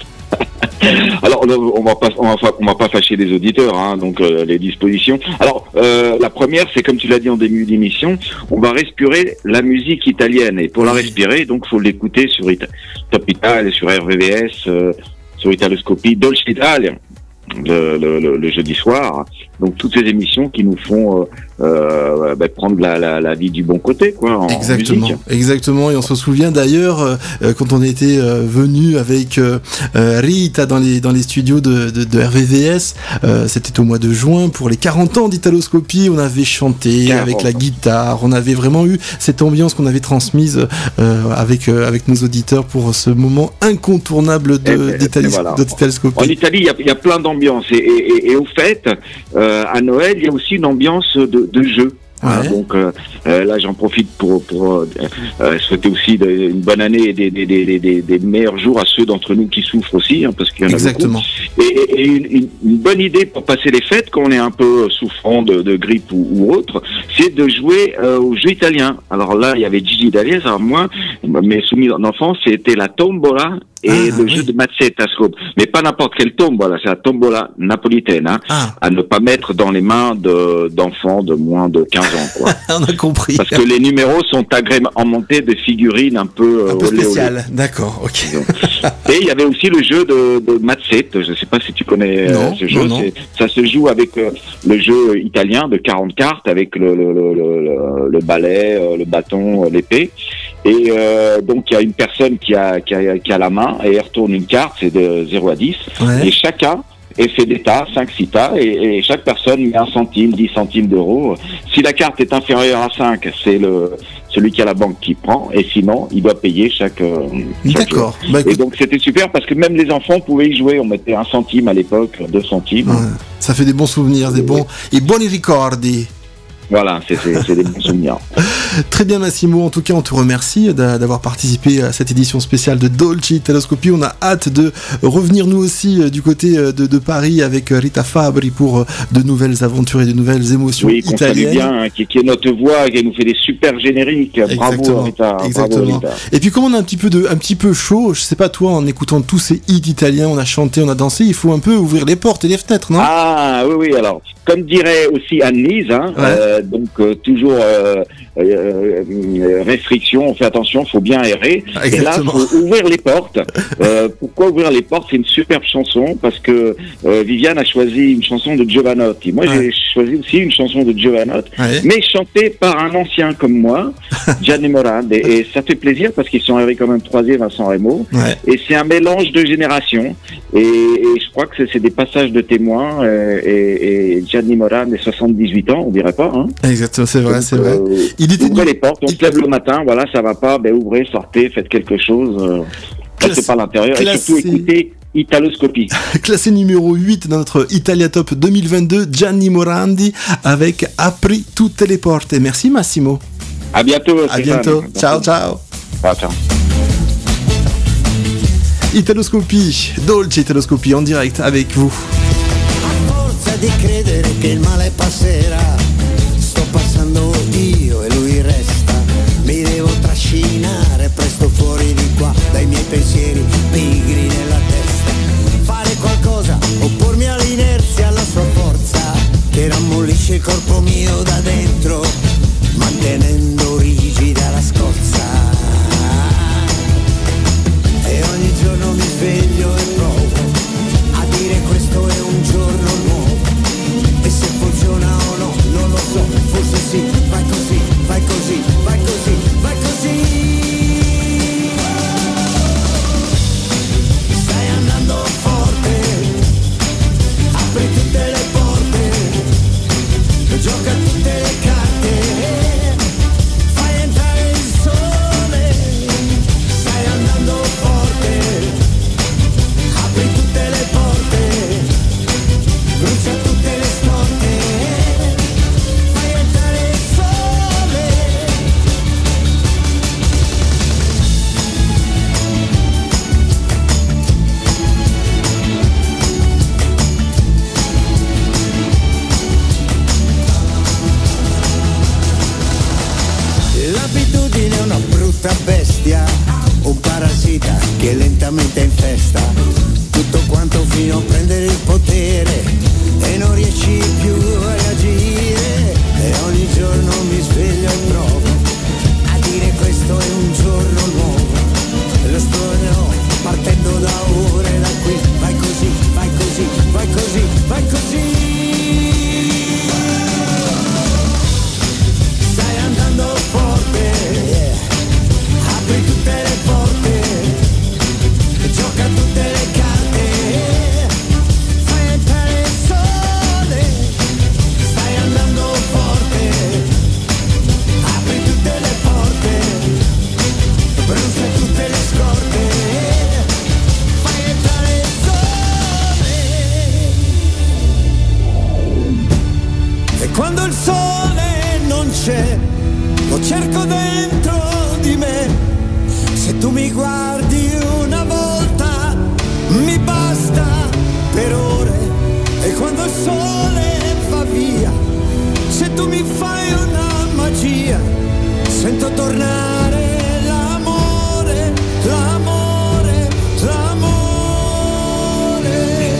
Alors on va pas on va, on va pas fâcher les auditeurs, hein, donc euh, les dispositions. Alors euh, la première, c'est comme tu l'as dit en début d'émission, on va respirer la musique italienne, et pour la respirer, donc faut l'écouter sur Ita- Top Italia, sur R V V S, euh, sur Italoscopie, Dolce Italia. Le, le, le, le jeudi soir, donc toutes ces émissions qui nous font euh, euh, bah, prendre la, la, la vie du bon côté, quoi. En exactement, musique. Exactement. Et on se souvient d'ailleurs euh, quand on était euh, venu avec euh, Rita dans les dans les studios de, de, de R V V S, euh, c'était au mois de juin pour les quarante ans d'Italoscopie. On avait chanté quarante avec la guitare, on avait vraiment eu cette ambiance qu'on avait transmise euh, avec euh, avec nos auditeurs pour ce moment incontournable de, et, d'Italie, voilà. d'Italoscopie. En Italie, il y a, y a plein d'ambiances. Et, et, et au fait, euh, à Noël, il y a aussi une ambiance de, de jeu. Ouais. Hein, donc euh, euh, là, j'en profite pour, pour euh, euh, souhaiter aussi de, une bonne année et des, des, des, des, des meilleurs jours à ceux d'entre nous qui souffrent aussi, hein, parce qu'il y en a exactement. beaucoup. Et, et une, une, une bonne idée pour passer les fêtes, quand on est un peu souffrant de, de grippe ou, ou autre, c'est de jouer euh, aux jeux italiens. Alors là, il y avait Gigi D'Aliese. Alors moi, mes souvenirs d'enfance, c'était la tombola et ah, le oui. jeu de mazzetta, mais pas n'importe quelle tombola, c'est la tombola napolitaine, hein, ah. à ne pas mettre dans les mains de, d'enfants de moins de quinze ans, quoi. On a compris. Parce que les numéros sont agrémentés de figurines un peu, un peu spéciales. D'accord, ok. Et il y avait aussi le jeu de, de mazzetta, je ne sais pas si tu connais non, euh, ce jeu, non, non. ça se joue avec euh, le jeu italien de quarante cartes, avec le, le, le, le, le balai, euh, le bâton, euh, l'épée. Et euh, donc il y a une personne qui a, qui a, qui a la main et elle retourne une carte, c'est de zéro à dix, ouais. Et chacun et fait des tas, cinq six tas, et, et chaque personne met un centime, dix centimes d'euros. Si la carte est inférieure à cinq, c'est le celui qui a la banque qui prend, et sinon il doit payer chaque, euh, chaque D'accord. Bah, et donc c'était super parce que même les enfants pouvaient y jouer, on mettait un centime à l'époque, deux centimes. Ouais. Ça fait des bons souvenirs, des bons et buoni ricordi. Voilà, c'est, c'est, c'est des bons souvenirs. Très bien Massimo, en tout cas on te remercie d'avoir participé à cette édition spéciale de Dolce Italoscopie. On a hâte de revenir nous aussi du côté de, de Paris avec Rita Fabri pour de nouvelles aventures et de nouvelles émotions oui, italiennes. Oui, bien, hein, qui, qui est notre voix, qui nous fait des super génériques. Exactement. Bravo Rita. Exactement. Bravo, Rita. Et puis comme on a un petit peu de, un petit peu chaud, je sais pas toi, en écoutant tous ces hits italiens, on a chanté, on a dansé, il faut un peu ouvrir les portes et les fenêtres, non? Ah oui, oui, alors, comme dirait aussi Anne-Lise, hein, ouais. euh, euh, donc euh, toujours euh, euh, euh, restriction, on fait attention, faut bien errer. Exactement. Et là, faut ouvrir les portes. Euh, pourquoi ouvrir les portes? C'est une superbe chanson parce que euh, Viviane a choisi une chanson de Giovanotti. Moi, Ouais. j'ai choisi aussi une chanson de Giovanotti, Ouais. mais chantée par un ancien comme moi, Gianni Morandi. Et, et ça fait plaisir parce qu'ils sont arrivés quand même troisième à Sanremo. Ouais. Et c'est un mélange de générations. Et, et je crois que c'est, c'est des passages de témoins. euh, Et, et Gianni Morandi, soixante-dix-huit ans, on dirait pas. Hein. Exactement, c'est vrai, Donc, c'est vrai. euh, Il était ouvrez les portes, on se lève le matin, voilà, ça va pas, ben ouvrez, sortez, faites quelque chose. Euh, restez pas à l'intérieur. Et classé. surtout écoutez Italoscopie. Classé numéro huit dans notre Italia Top deux mille vingt-deux, Gianni Morandi avec Apri tutte le porte. Merci Massimo. À bientôt. À bientôt. Ciao, ciao. Ciao, ciao. Italoscopie, Dolce Italoscopie en direct avec vous. Forza di credere che il male passerà, sto passando io e lui resta, mi devo trascinare presto fuori di qua, dai miei pensieri pigri nella testa, fare qualcosa, oppormi all'inerzia, alla sua forza, che rammollisce il corpo mio da dentro, mantenendo rigida la scorza, e ogni giorno mi sveglio e provo a dire questo è un giorno nuovo, e se funziona o no non lo so, forse sì, vai così, vai così, vai così, vai così. Stai andando forte, apri tutte le porte, gioca tutte le carte, fai entrare il sole, stai andando forte, apri tutte le porte, brucia tutte le scorte, fai entrare il sole. L'abitudine è una brutta bestia, un parassita che lentamente infesta tutto quanto fino a prendere il potere e non riesci più a reagire, e ogni giorno mi sveglio e provo a dire questo è un giorno nuovo, e lo esplorerò partendo da ora e da qui, vai così, vai così, vai così, vai così. Stai andando forte, yeah. Apri tutte le porte, gioca tutte le carte, fai entrare il sole, stai andando forte, apri tutte le porte, brucia tutte le scorte, fai entrare il sole. E quando il sole non c'è, lo cerco dentro di me, se tu mi guardi una volta mi basta per ore, e quando il sole va via, se tu mi fai una magia, sento tornare l'amore, l'amore, l'amore.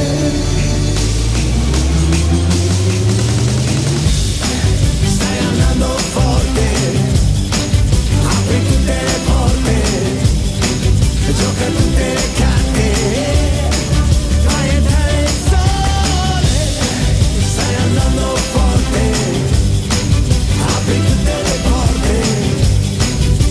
Stai andando forte, apri tutte le porte, gioca tutte le carte, fai entrare il sole, stai andando forte, apri tutte le porte,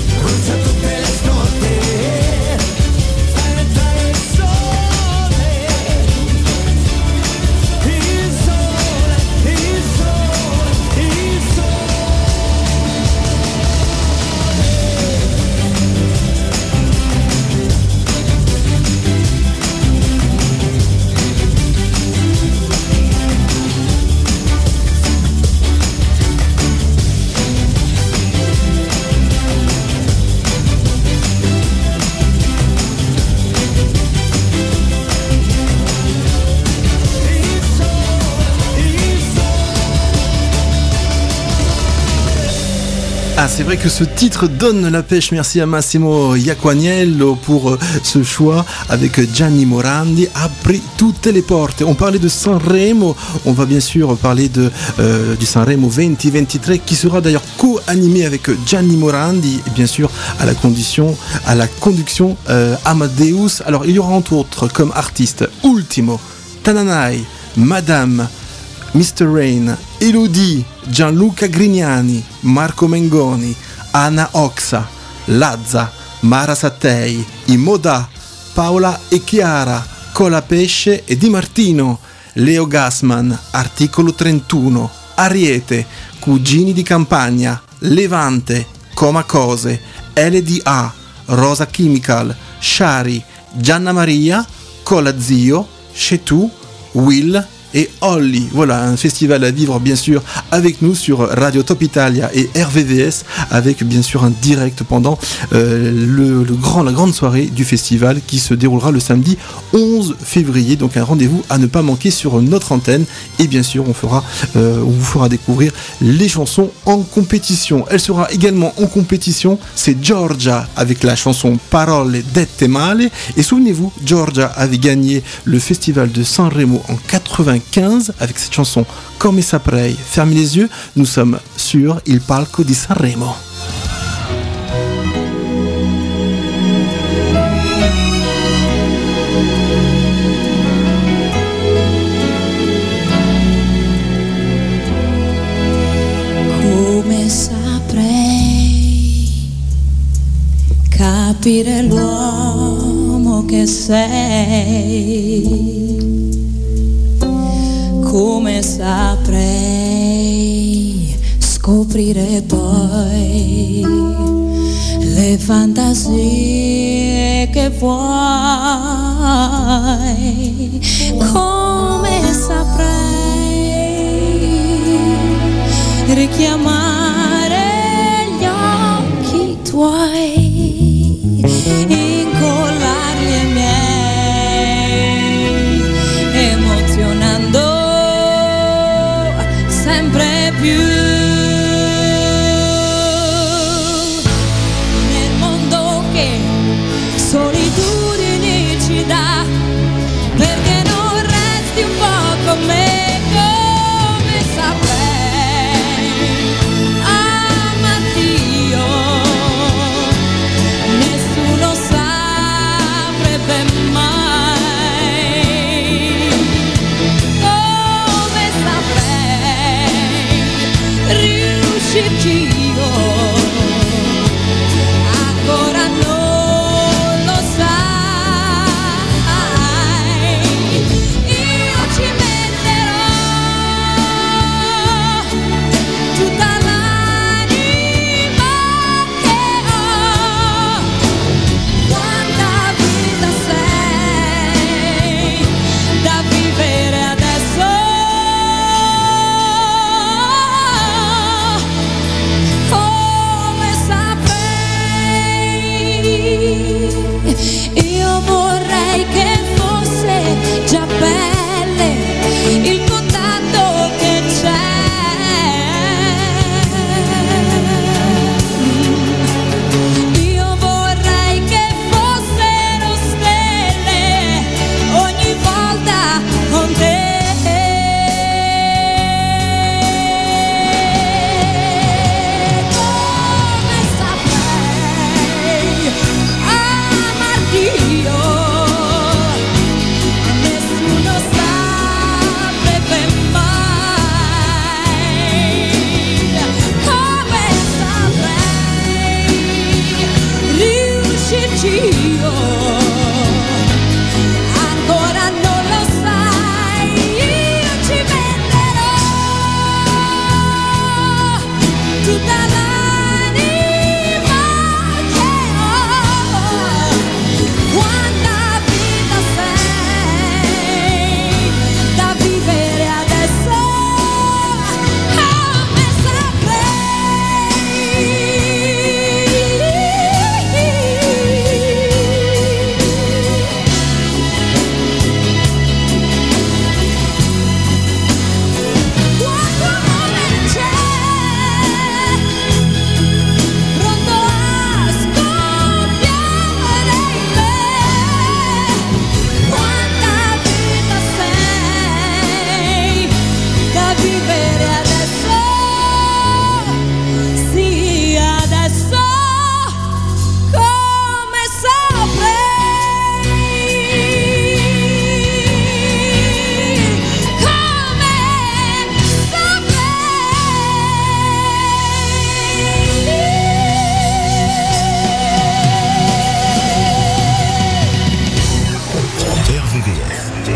Ah, c'est vrai que ce titre donne la pêche. Merci à Massimo Iaquaniello pour euh, ce choix avec Gianni Morandi. Apri tutte le porte. On parlait de Sanremo. On va bien sûr parler de, euh, du Sanremo vingt vingt-trois qui sera d'ailleurs co-animé avec Gianni Morandi et bien sûr à la condition, à la conduction euh, Amadeus. Alors il y aura entre autres comme artistes Ultimo, Tananai, Madame, mister Rain, Elodie, Gianluca Grignani, Marco Mengoni, Anna Oxa, Lazza, Mara Sattei, Imoda, Paola e Chiara, Colapesce e Di Martino, Leo Gassman, Articolo trentuno, Ariete, Cugini di Campagna, Levante, Coma Cose, L D A, Rosa Chemical, Shari, Gianna Maria, Cola Zio, Chetou, Will et Holly. Voilà, un festival à vivre bien sûr avec nous sur Radio Top Italia et R V V S, avec bien sûr un direct pendant euh, le, le grand, la grande soirée du festival qui se déroulera le samedi onze février. Donc un rendez-vous à ne pas manquer sur notre antenne, et bien sûr on fera, euh, on vous fera découvrir les chansons en compétition. Elle sera également en compétition, c'est Giorgia avec la chanson Parole dette male. Et souvenez-vous, Giorgia avait gagné le festival de Sanremo en quatre-vingt-quinze avec cette chanson Come Saprei. Fermez les yeux, nous sommes sur Il Palco di Sanremo. Come saprei capire l'uomo che sei, come saprei scoprire poi le fantasie che vuoi, come saprei richiamare gli occhi tuoi, incollarli ai miei, emozionando sempre più. Nel mondo che solitudine ci dà, perché non resti un po' con me, come saprei amarti io, nessuno saprebbe mai, come saprei riuscirci io, ancora non lo sai, io ci metterò tutta l'anima che ho, quanta vita sei da vivere adesso,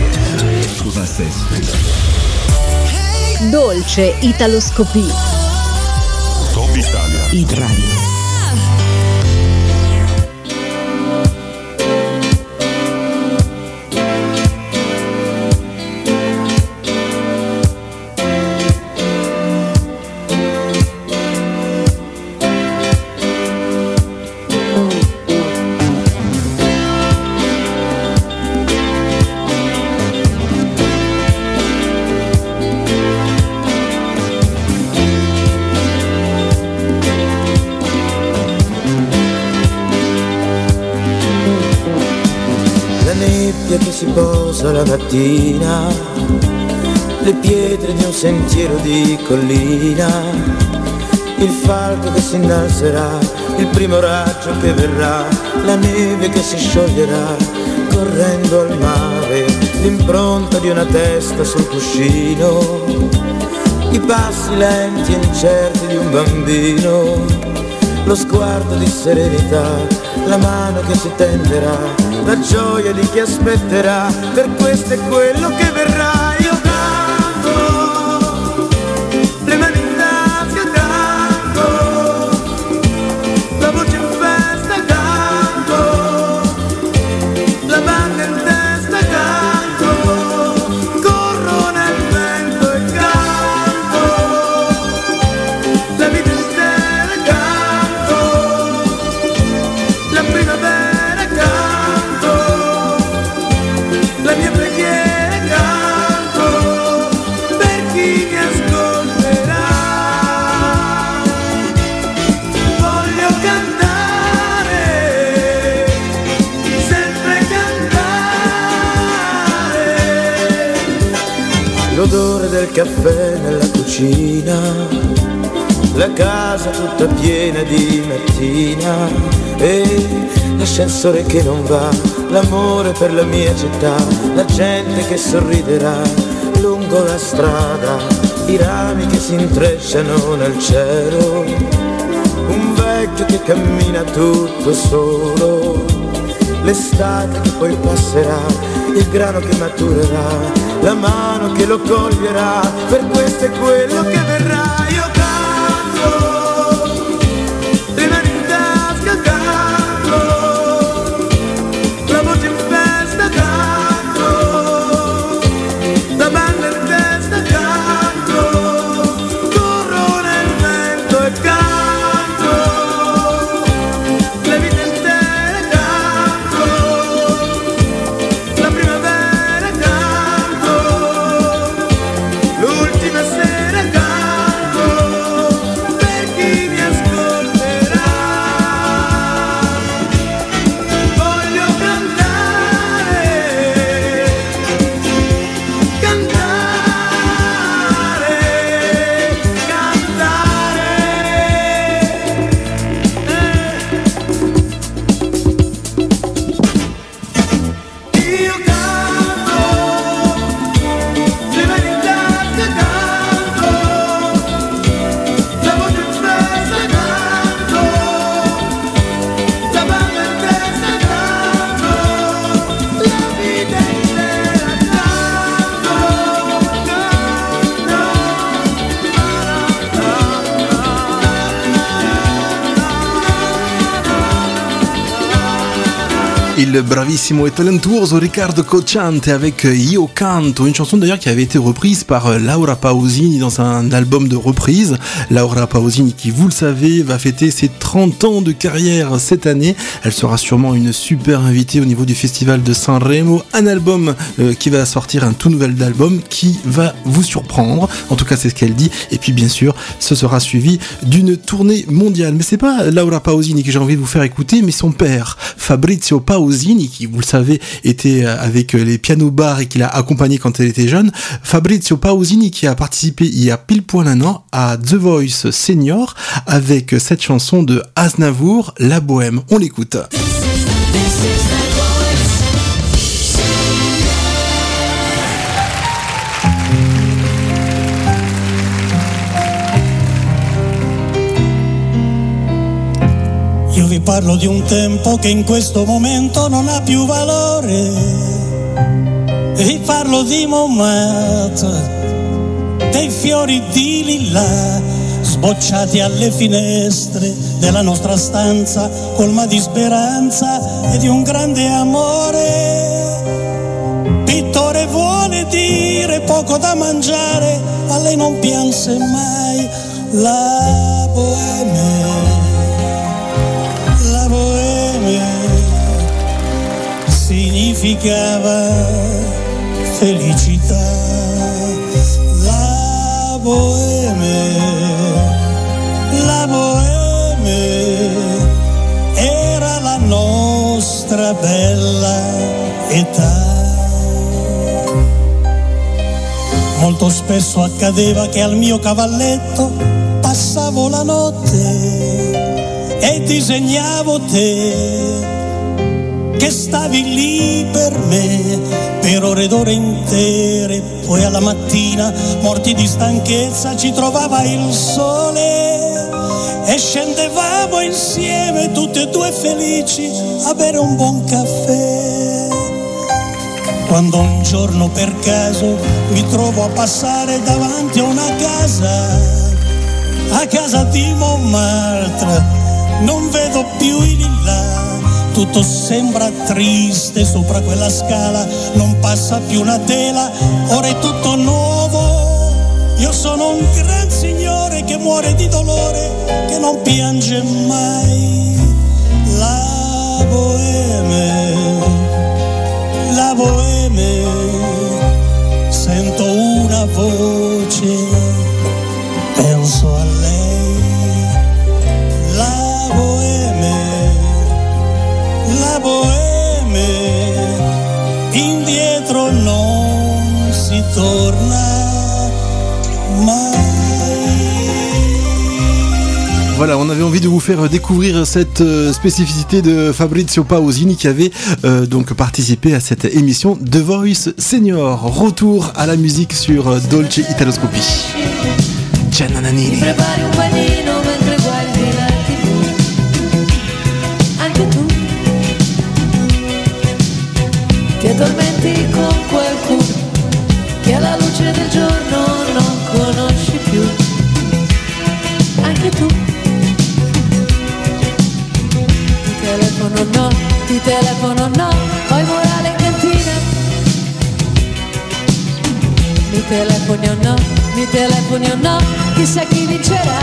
Dolce Italoscopie. Top Italia. Hit Radio. Che si posa la mattina, le pietre di un sentiero di collina, il falco che si innalzerà, il primo raggio che verrà, la neve che si scioglierà correndo al mare, l'impronta di una testa sul cuscino, i passi lenti e incerti di un bambino, lo sguardo di serenità, la mano che si tenderà, la gioia di chi aspetterà, per questo è quello che verrà. Io canto, le mani in tasca canto, la voce in festa canto, la banda in testa canto, corro nel vento e canto, la vita intera canto, la primavera la mia preghiera canto per chi mi ascolterà. Voglio cantare, sempre cantare. L'odore del caffè nella cucina, la casa tutta piena di mattina e l'ascensore che non va, l'amore per la mia città, la gente che sorriderà lungo la strada, i rami che si intrecciano nel cielo, un vecchio che cammina tutto solo, l'estate che poi passerà, il grano che maturerà, la mano che lo coglierà, per questo è quello che verrà. Io canto, le mani in tasca canto, la voce in festa canto, la banda in testa canto, corro nel vento e canto, la vita intera canto, la primavera canto, l'ultima sera canto, per chi mi ascolterà. Voglio cantare, cantare, cantare. Io canto, le mani in tasca canto, la voce in festa canto, la banda in testa canto, la vita intera Il bravissimo et talentuoso Riccardo Cocciante avec Io Canto, une chanson d'ailleurs qui avait été reprise par Laura Pausini dans un album de reprise. Laura Pausini qui, vous le savez, va fêter ses trente ans de carrière cette année. Elle sera sûrement une super invitée au niveau du festival de Sanremo. Un album euh, qui va sortir, un tout nouvel album qui va vous surprendre. En tout cas, c'est ce qu'elle dit. Et puis, bien sûr, ce sera suivi d'une tournée mondiale. Mais c'est pas Laura Pausini que j'ai envie de vous faire écouter, mais son père, Fabrizio Pausini, qui, vous le savez, était avec les piano bars et qui l'a accompagné quand elle était jeune. Fabrizio Pausini qui a participé il y a pile poil un an à The Voice Senior avec cette chanson de Aznavour, La Bohème. On l'écoute. Io vi parlo di un tempo che in questo momento non ha più valore vi parlo di Montmartre, dei fiori di lilla sbocciati alle finestre della nostra stanza, colma di speranza e di un grande amore. Pittore vuole dire poco da mangiare, a lei non pianse mai. La bohème, la bohème significava felicità. La bohème, la bohème era la nostra bella età. Molto spesso accadeva che al mio cavalletto passavo la notte e disegnavo te, che stavi lì per me per ore ed ore intere. Poi alla mattina, morti di stanchezza, ci trovava il sole e scendevamo insieme, tutti e due felici, a bere un buon caffè. Quando un giorno per caso mi trovo a passare davanti a una casa, a casa di Montmartre, non vedo più i lilla, tutto sembra triste sopra quella scala, non passa più una tela, ora è tutto nuovo. Io sono un gran signore che muore di dolore, che non piange mai. La bohème, la bohème, sento una voce, penso a lei. La bohème, la bohème, indietro non si torna mai. Voilà, on avait envie de vous faire découvrir cette euh, spécificité de Fabrizio Pausini qui avait euh, donc participé à cette émission The Voice Senior. Retour à la musique sur euh, Dolce Italoscopie. Gianna Nannini. Prepari un panino mentre guardi la tivù. Anche tu ti addormenti con qualcuno che alla luce del giorno non conosci più. Anche tu ti telefono no, ti telefono no, poi morale in cantina. Mi telefoni o no, mi telefoni o no, chissà chi vincerà.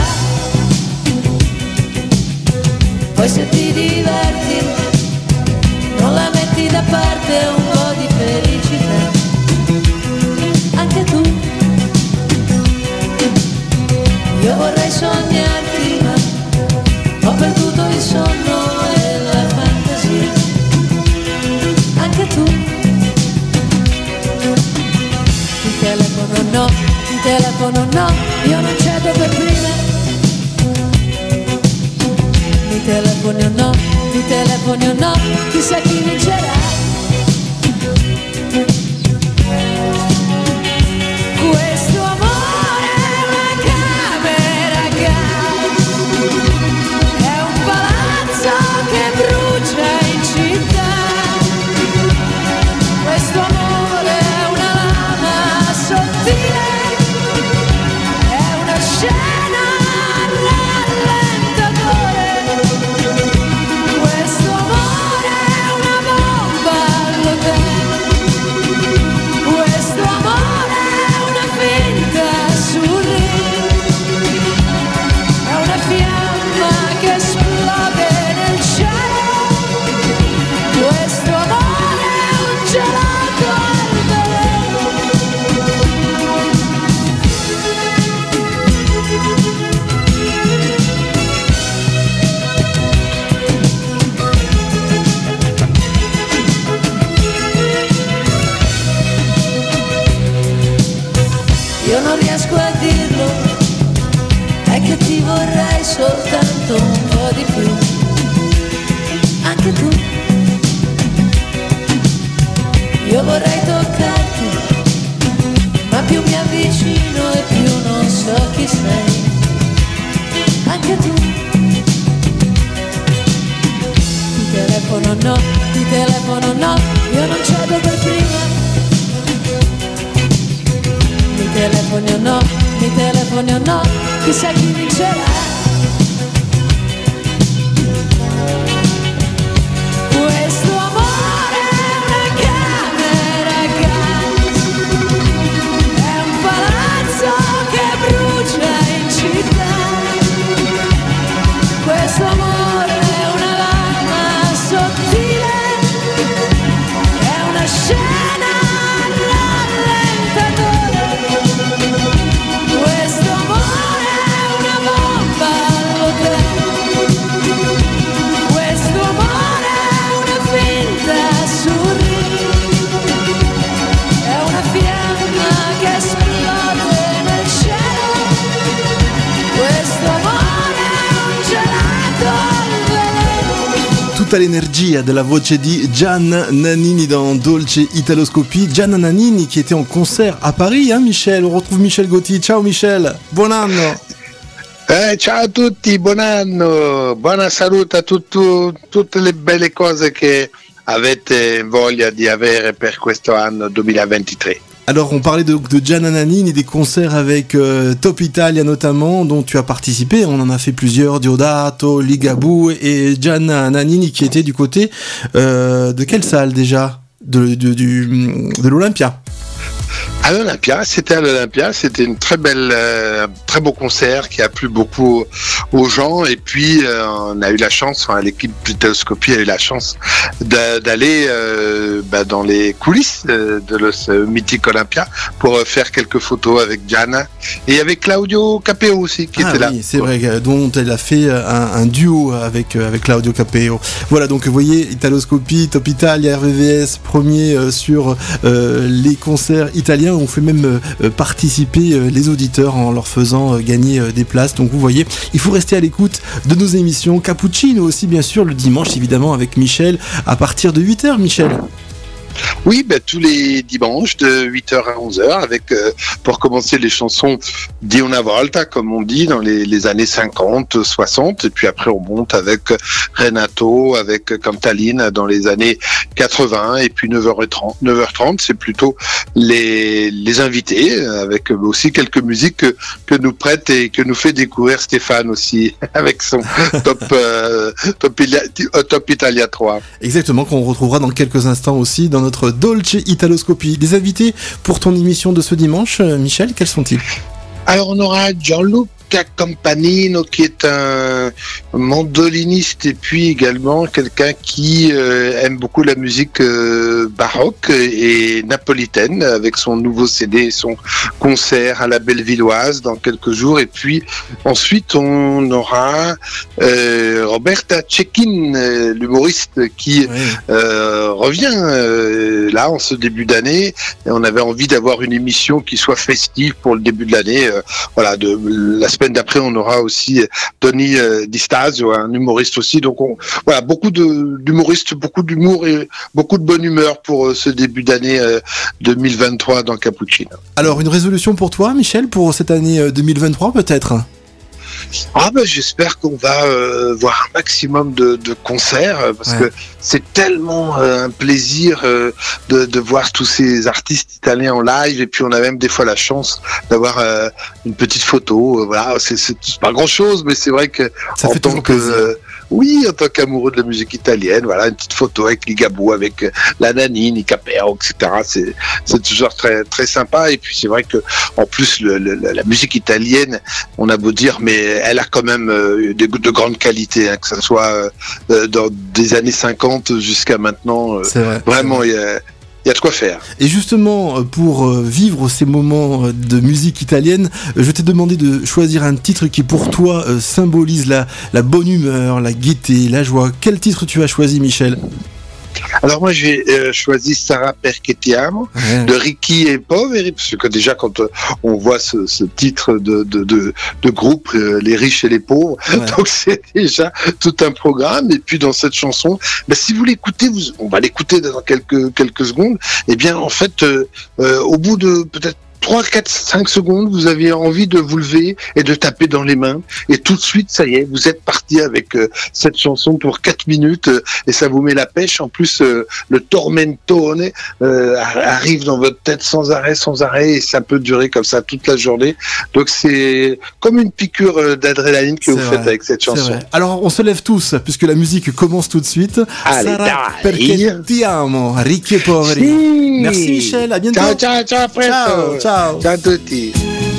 Poi se ti diverti, non la metti da parte un po' di felicità. Anche tu, io vorrei sognarti, ma ho perduto il sonno e la fantasia. Anche tu, ti telefono no, ti telefono no, io non cedo per prima. Mi telefoni o no, mi telefoni o no, chissà chi vincerà. Questo amore è una camera a gas, è un palazzo che brucia in città. Questo amore è una lama sottile, è una scena rallentatore. Questo amore è una bomba all'hotel. Questo amore è una finta sul ring, è una fiamma che esplode nel cielo. Questo amore è un gelato al veleno. Io non riesco a dirlo, è che ti vorrei soltanto un po' di più. Anche tu, io vorrei toccarti, ma più mi avvicino e più non so chi sei. Anche tu, ti telefono no, ti telefono no, io non cedo per prima. telefoni o no, mi telefoni o no, chissà chi vincerà. Questo amore è una camera gas, è un palazzo che brucia in città. Questo amore è una lama sottile, è una scena rallentatore. Questo amore è una bomba all'hotel. Questo amore è una finta sorriso, è una fiamma che esplode nel cielo. Questo amore è un gelato al veleno. Tutta l'energia della voce di Gian Nannini dans Dolce Italoscopie. Gian Nannini qui était en concert à Paris, hein, Michel. On retrouve Michel Gauthier. Ciao Michel, buon anno. Eh, ciao a tutti, buon anno, buona salute a tutto, tutte le belle cose che avete voglia di avere per questo anno duemilaventitré. Alors, on parlait de, de Gian Nannini, des concerts avec euh, Top Italia notamment, dont tu as participé. On en a fait plusieurs, Diodato, Ligabue et Gian Nannini qui était du côté euh, de quelle salle déjà de, de, du, de l'Olympia. À l'Olympia, c'était à l'Olympia, c'était une très belle, euh, très beau concert qui a plu beaucoup aux gens. Et puis, euh, on a eu la chance, enfin, l'équipe d'Italoscopie a eu la chance d'a- d'aller euh, bah, dans les coulisses de, de le, ce mythique Olympia pour euh, faire quelques photos avec Gianna et avec Claudio Capeo aussi qui ah était oui, là. c'est vrai, dont elle a fait un, un duo avec, avec Claudio Capeo. Voilà, donc vous voyez, Italoscopie, Top Italia, R V V S, premier euh, sur euh, les concerts italiens. On fait même euh, participer euh, les auditeurs en leur faisant euh, gagner euh, des places. Donc vous voyez, il faut rester à l'écoute de nos émissions. Cappuccino aussi, bien sûr, le dimanche, évidemment, avec Michel, à partir de huit heures, Michel. Oui, ben, tous les dimanches de huit heures à onze heures avec, euh, pour commencer les chansons di una volta, comme on dit, dans les, les années cinquante, soixante, et puis après on monte avec Renato, avec Cantalina dans les années quatre-vingts, et puis neuf heures trente, neuf heures trente, c'est plutôt les, les invités, avec aussi quelques musiques que, que nous prête et que nous fait découvrir Stéphane aussi, avec son top, euh, top, Ila- top Italia trois. Exactement, qu'on retrouvera dans quelques instants aussi dans notre Dolce Italoscopie. Les invités pour ton émission de ce dimanche, Michel, quels sont-ils ? Alors on aura Gianluca Campanino qui est un mandoliniste et puis également quelqu'un qui euh, aime beaucoup la musique euh, baroque et napolitaine avec son nouveau C D, son concert à la Bellevilloise dans quelques jours. Et puis ensuite on aura euh, Roberta Cecchin, euh, l'humoriste qui oui. euh, revient euh, là en ce début d'année. Et on avait envie d'avoir une émission qui soit festive pour le début de l'année. Euh, voilà, de la semaine d'après, on aura aussi Tony euh, Di Stasio, un humoriste aussi. Donc, on, voilà, beaucoup de, d'humoristes, beaucoup d'humour et beaucoup de bonne humeur pour euh, ce début d'année euh, deux mille vingt-trois dans Cappuccino. Alors, une résolution pour toi, Michel, pour cette année euh, deux mille vingt-trois, peut-être ? Ah ben j'espère qu'on va euh, voir un maximum de, de concerts euh, parce ouais. que c'est tellement euh, un plaisir euh, de, de voir tous ces artistes italiens en live, et puis on a même des fois la chance d'avoir euh, une petite photo. Euh, voilà, c'est, c'est, c'est pas grand chose, mais c'est vrai que ça en fait tant que euh, oui, en tant qu'amoureux de la musique italienne, voilà, une petite photo avec Ligabue, avec euh, la Nannini, Capeo, et cetera. C'est, c'est toujours très très sympa. Et puis c'est vrai que en plus le, le, la musique italienne, on a beau dire, mais elle a quand même euh, des, de grande qualité, hein, que ce soit euh, dans des années cinquante jusqu'à maintenant. Euh, c'est vrai, vraiment, c'est vrai. Il y a Il y a de quoi faire. Et justement, pour vivre ces moments de musique italienne, je t'ai demandé de choisir un titre qui pour toi symbolise la, la bonne humeur, la gaieté, la joie. Quel titre tu as choisi, Michel ? Alors moi j'ai euh, choisi Sarà perché ti amo ouais. de Ricchi e Poveri, parce que déjà quand euh, on voit ce, ce titre de, de, de, de groupe, euh, les riches et les pauvres, ouais. donc c'est déjà tout un programme. Et puis dans cette chanson, bah, si vous l'écoutez, vous, on va l'écouter dans quelques, quelques secondes, et bien en fait euh, euh, au bout de peut-être trois, quatre, cinq secondes, vous aviez envie de vous lever et de taper dans les mains. Et tout de suite, ça y est, vous êtes parti avec euh, cette chanson pour quatre minutes euh, et ça vous met la pêche. En plus, euh, le tormentone euh, arrive dans votre tête sans arrêt, sans arrêt, et ça peut durer comme ça toute la journée. Donc c'est comme une piqûre euh, d'adrénaline que C'est vous vrai, faites avec cette c'est chanson. vrai. Alors on se lève tous puisque la musique commence tout de suite. Allez, Sarà dai. perché ti amo, ricchi e poveri. Sì. Merci Michel, à bientôt. Ciao, ciao, ciao, a presto. Ciao, ciao. Ciao a tutti.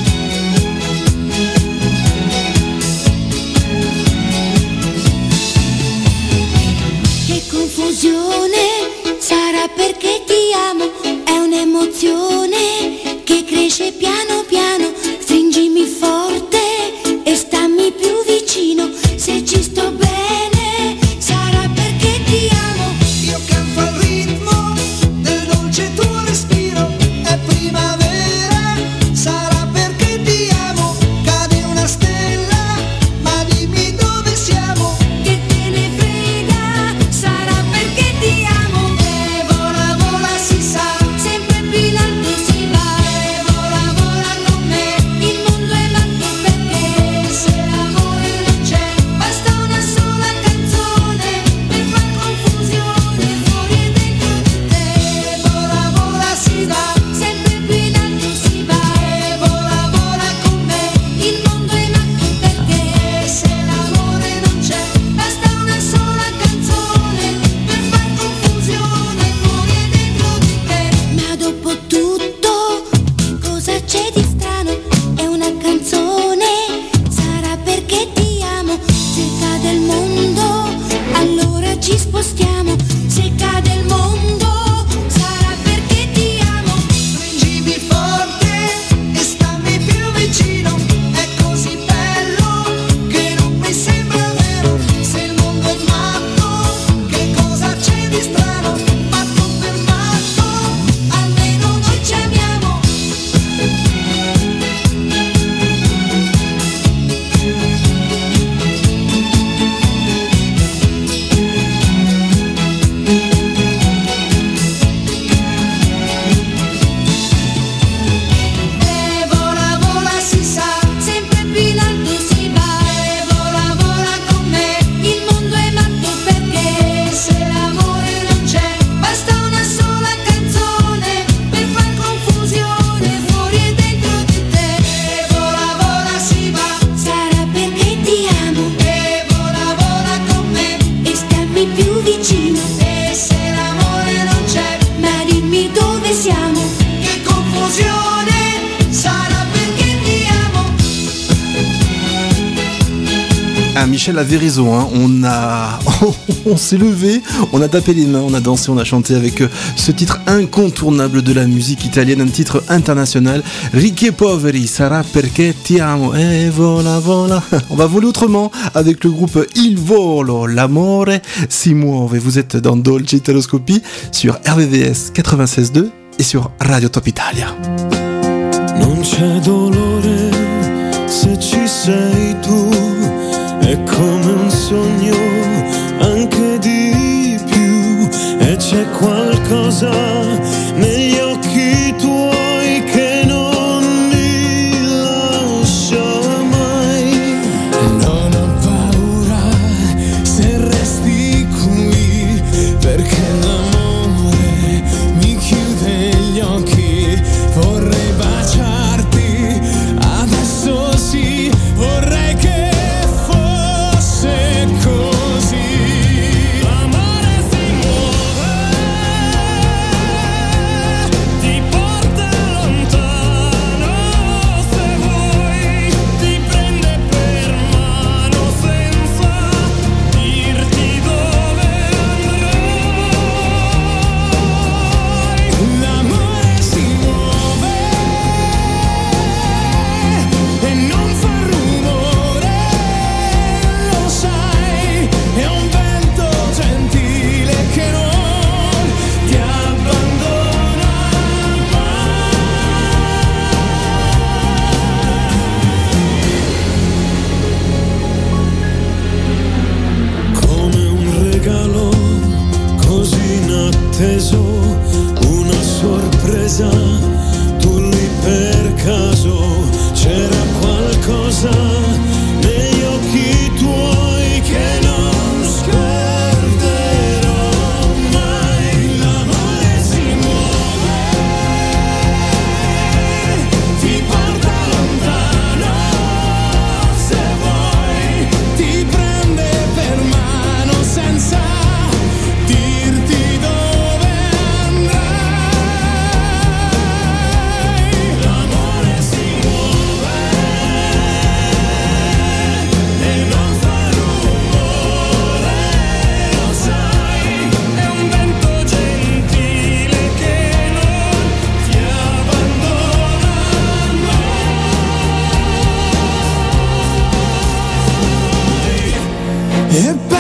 Che confusione, sarà perché ti amo, è un'emozione che cresce piano piano, stringimi forte e stammi più vicino, se ci sto bene, sarà perché ti amo. Io canto al ritmo del dolce tuo respiro, è primavera, sarà perché ti amo, cade una stella, ma dimmi dove siamo. Che te ne frega, sarà perché ti amo. E vola vola si sa, Sempre più in alto si va, e vola vola con me, il mondo è matto perché se l'amore non c'è, basta una sola canzone per far confusione fuori e dentro di te. e vola vola si va, Sempre più in alto si va, e vola vola con me, il mondo è matto perché se l'amore non c'è, basta una sola canzone per far confusione fuori e dentro di te. Ma dopo tutto, cosa c'è di strano? È una canzone, sarà perché ti amo. Se cade il mondo, allora ci spostiamo. Se cade il mondo, sarà perché ti amo. stringimi forte e stammi più vicino, è così bello che non mi sembra vero, se il mondo è matto, che cosa c'è di strano, matto per matto, almeno noi ci amiamo. E vola vola si sa, Sempre più in alto si va, e vola vola con me, il mondo è matto perché se l'amore non c'è, basta una sola canzone per far confusione fuori e dentro di te. e vola vola si va, Sarà perché ti amo e vola vola con me, e stammi più vicino, e se l'amore non c'è, ma dimmi dove siamo. che confusione, sarà perché ti amo. Ah, Michel avait raison, hein. on a, on s'est levé, on a tapé les mains, on a dansé, on a chanté avec euh, ce titre incontournable de la musique italienne, un titre international, Ricchi e poveri, sarà perché ti amo, e vola vola. On va voler autrement avec le groupe Il Volo, l'amore si muove. Vous êtes dans Dolce Italoscopie sur R V V S quatre-vingt-seize deux et sur Radio Top Italia. Non c'è dolore se ci sei tu, è come un sogno, anche di più, e c'è qualcosa negli occhi tuoi che non mi lascia mai. Non ho paura se resti qui, perché l'amore mi chiude gli occhi, vorrei baciarti, adesso sì, vorrei che fosse così. L'amore si muove,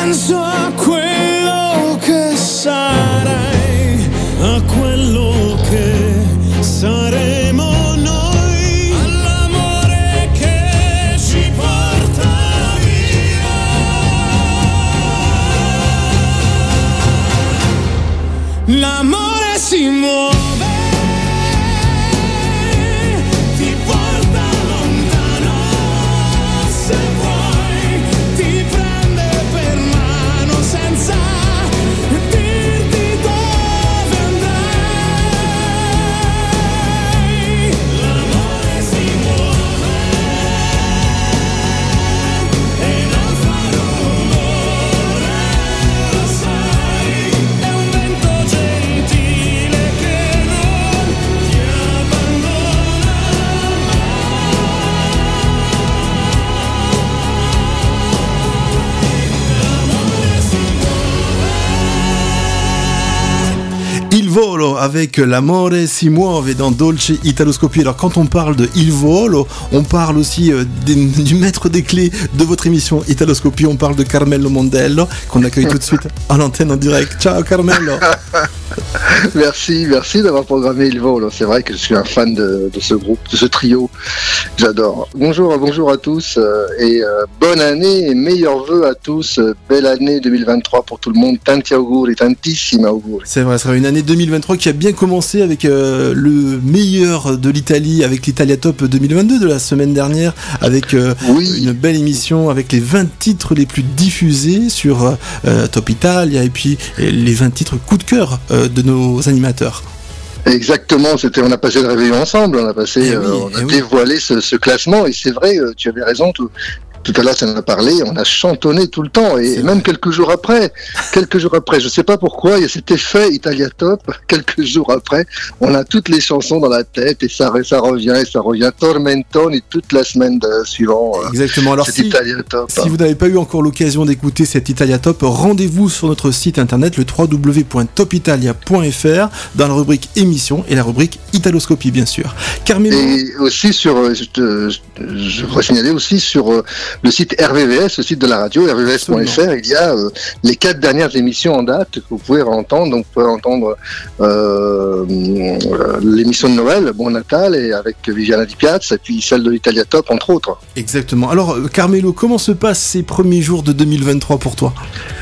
penso a quello che sarai, a quello che saremo noi, all'amore che ci porta via. L'amore si muove, ti porta lontano, se vuoi ti prende per mano senza dirti dove andrai. L'amore si muove e non fa rumore, lo sai, è un vento gentile che non ti abbandona Il Volo avec l'amore si muove dans Dolce Italoscopie. Alors quand on parle de Il Volo, on parle aussi euh, des, du maître des clés de votre émission Italoscopie. On parle de Carmelo Mondello qu'on accueille tout de suite à l'antenne en direct. Ciao Carmelo. Merci, merci d'avoir programmé Il Volo. C'est vrai que je suis un fan de, de ce groupe, de ce trio. J'adore. Bonjour, bonjour à tous euh, et euh, bonne année et meilleurs vœux à tous. Euh, belle année deux mille vingt-trois pour tout le monde. Tanti auguri, tantissimi auguri. C'est vrai, ce sera une année deux mille vingt-trois qui a bien commencé avec euh, le meilleur de l'Italie, avec l'Italia Top deux mille vingt-deux de la semaine dernière, avec euh, oui. une belle émission avec les vingt titres les plus diffusés sur euh, Top Italia et puis les vingt titres coup de cœur euh, de nos animateurs. Exactement, c'était, on a passé le réveillon ensemble, on a passé, Eh oui, euh, on a eh oui. dévoilé ce, ce classement et c'est vrai, euh, tu avais raison, tout, tout à l'heure ça en a parlé, on a chantonné tout le temps et C'est même vrai. quelques jours après, quelques jours après, je sais pas pourquoi, il y a cet effet Italia Top, quelques jours après, on a toutes les chansons dans la tête et ça, ça revient et ça revient tormentoni toute la semaine de, suivant euh, Exactement. Alors cet si, Italia Top. si vous n'avez pas eu encore l'occasion d'écouter cet Italia Top, rendez-vous sur notre site internet le w w w point top italia point f r dans la rubrique émission et la rubrique Italoscopie bien sûr. Carmelo. Et aussi sur, euh, je, te- je, je voudrais signaler aussi sur euh, le site R V V S, le site de la radio, r v v s point f r, il y a euh, les quatre dernières émissions en date que vous pouvez entendre. Donc vous pouvez entendre euh, euh, l'émission de Noël, Bon Natal, et avec Viviana Di Piazza, et puis celle de l'Italia Top, entre autres. Exactement. Alors euh, Carmelo, comment se passent ces premiers jours de deux mille vingt-trois pour toi?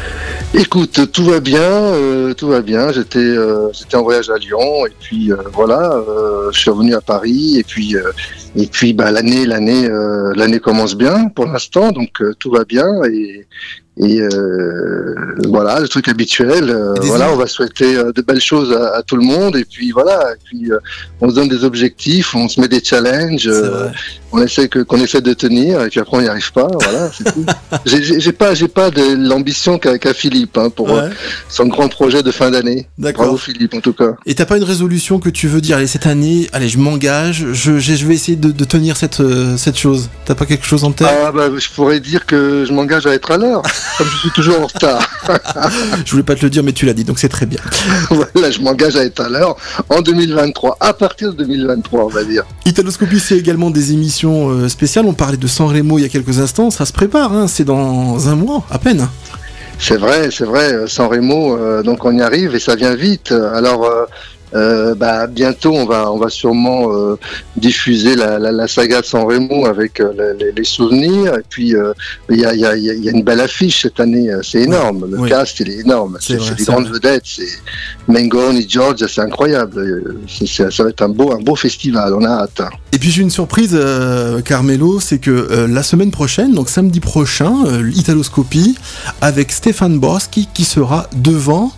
Écoute, tout va bien, euh, tout va bien. J'étais, euh, j'étais en voyage à Lyon et puis euh, voilà, euh, je suis revenu à Paris et puis euh, et puis bah l'année, l'année, euh, l'année commence bien pour l'instant, donc euh, tout va bien et et euh, voilà le truc habituel. Euh, voilà, on va souhaiter euh, de belles choses à, à tout le monde et puis voilà, et puis euh, on se donne des objectifs, on se met des challenges, euh, on essaie que qu'on essaie de tenir et puis après on n'y arrive pas. Voilà, c'est tout. J'ai, j'ai j'ai pas, j'ai pas de l'ambition qu'a, qu'a Philippe hein, pour Ouais. euh, son grand projet de fin d'année. D'accord. Bravo Philippe en tout cas. Et t'as pas une résolution que tu veux dire, allez cette année, allez je m'engage, je, je je vais essayer de, de tenir cette, euh, cette chose. T'as pas quelque chose en tête? Ah bah je pourrais dire que je m'engage à être à l'heure, comme je suis toujours en retard. Je voulais pas te le dire mais tu l'as dit donc c'est très bien. Voilà, je m'engage à être à l'heure en deux mille vingt-trois, à partir de deux mille vingt-trois on va dire. Italoscopie, c'est également des émissions euh, spéciales. On parlait de Sanremo il y a quelques instants. Ça se prépare, hein, c'est dans un mois à peine. C'est vrai, c'est vrai, Sanremo, euh, donc on y arrive et ça vient vite. Alors euh, euh, bah, bientôt on va, on va sûrement euh, diffuser la, la, la saga de Sanremo avec euh, les, les souvenirs. Et puis euh, il y, a, il y, a, il y a une belle affiche cette année, c'est énorme. Le Oui. cast il est énorme. C'est C'est, vrai, c'est des c'est grandes vrai. vedettes. C'est Mengoni, Georgia, c'est incroyable. Euh, C'est, c'est- ça va être un beau, un beau festival. On a hâte. Et puis j'ai une surprise, euh, Carmelo, c'est que euh, la semaine prochaine, donc samedi prochain, euh, l'Italoscopie avec Stéphane Boschi qui sera devant.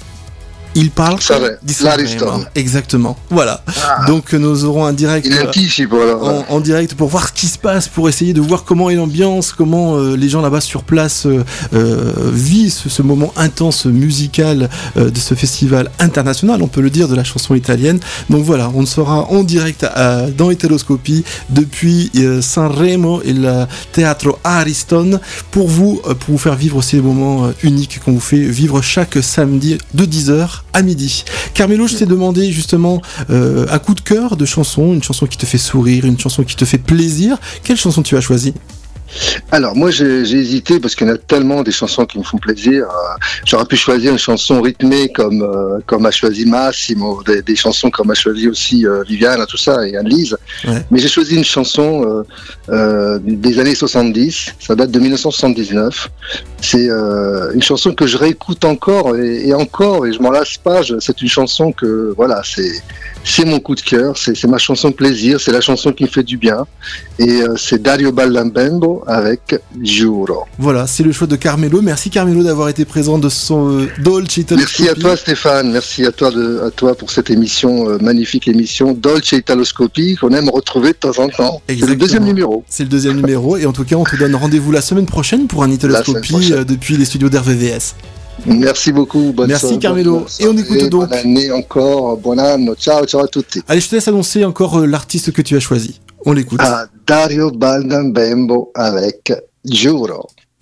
Il parle Sanremo, di Sanremo. l'Ariston. Exactement. Voilà. Ah. Donc euh, nous aurons un direct Il euh, anticipe alors. en, en direct pour voir ce qui se passe, pour essayer de voir comment est l'ambiance, comment euh, les gens là-bas sur place euh, euh, vivent ce, ce moment intense musical euh, de ce festival international, on peut le dire, de la chanson italienne. Donc voilà, on sera en direct à- dans Italoscopie depuis euh, Sanremo et le Teatro Ariston pour vous, euh, pour vous faire vivre ces moments euh, uniques qu'on vous fait vivre chaque samedi de dix heures à midi. Carmelo, je t'ai demandé justement euh, un coup de cœur de chanson, une chanson qui te fait sourire, une chanson qui te fait plaisir. Quelle chanson tu as choisi? Alors moi j'ai, j'ai hésité parce qu'il y en a tellement des chansons qui me font plaisir. Euh, j'aurais pu choisir une chanson rythmée comme euh, comme a choisi Massimo, des, des chansons comme a choisi aussi euh, Viviane, tout ça, et Anne-Lise. Ouais. Mais j'ai choisi une chanson euh, euh, des années soixante-dix. Ça date de dix-neuf cent soixante-dix-neuf. C'est euh, une chanson que je réécoute encore et, et encore et je m'en lasse pas. Je, c'est une chanson que voilà, c'est c'est mon coup de cœur. C'est, c'est ma chanson de plaisir. C'est la chanson qui me fait du bien. Et euh, c'est Dario Baldambembo avec Giuro. Voilà, c'est le choix de Carmelo. Merci Carmelo d'avoir été présent de son euh, Dolce Italoscopie. Merci à toi Stéphane, merci à toi, de, à toi pour cette émission, euh, magnifique émission Dolce Italoscopie qu'on aime retrouver de temps en temps. Exactement. C'est le deuxième numéro. C'est le deuxième numéro et en tout cas on te donne rendez-vous la semaine prochaine pour un Italoscopie euh, depuis les studios d'R V V S. Merci beaucoup, bonne Merci soirée, Carmelo. bonne et on écoute donc. Bonne année encore, buon anno, ciao, ciao à tutti. Allez, je te laisse annoncer encore euh, l'artiste que tu as choisi. On l'écoute. Ah, Dario Baldambembo avec Giuro.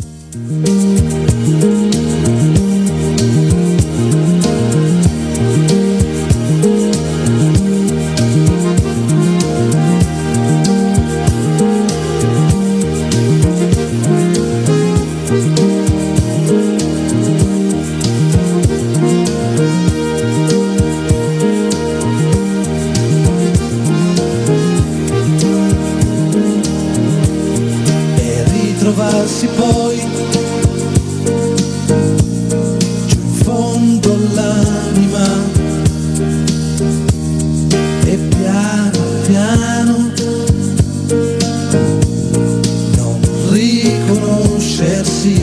Trovarsi poi giù in fondo all'anima e piano piano non riconoscersi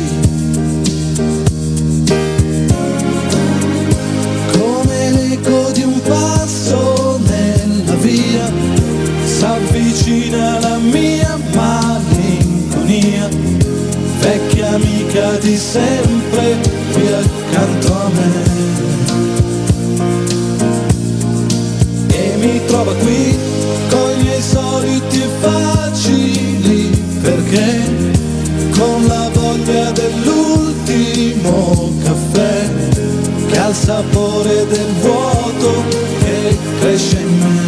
come l'eco di un passo nella via s'avvicina la mia malinconia, vecchia amica di sempre qui accanto a me, e mi trova qui con i miei soliti e facili perché con la voglia dell'ultimo caffè che ha il sapore del vuoto che cresce in me.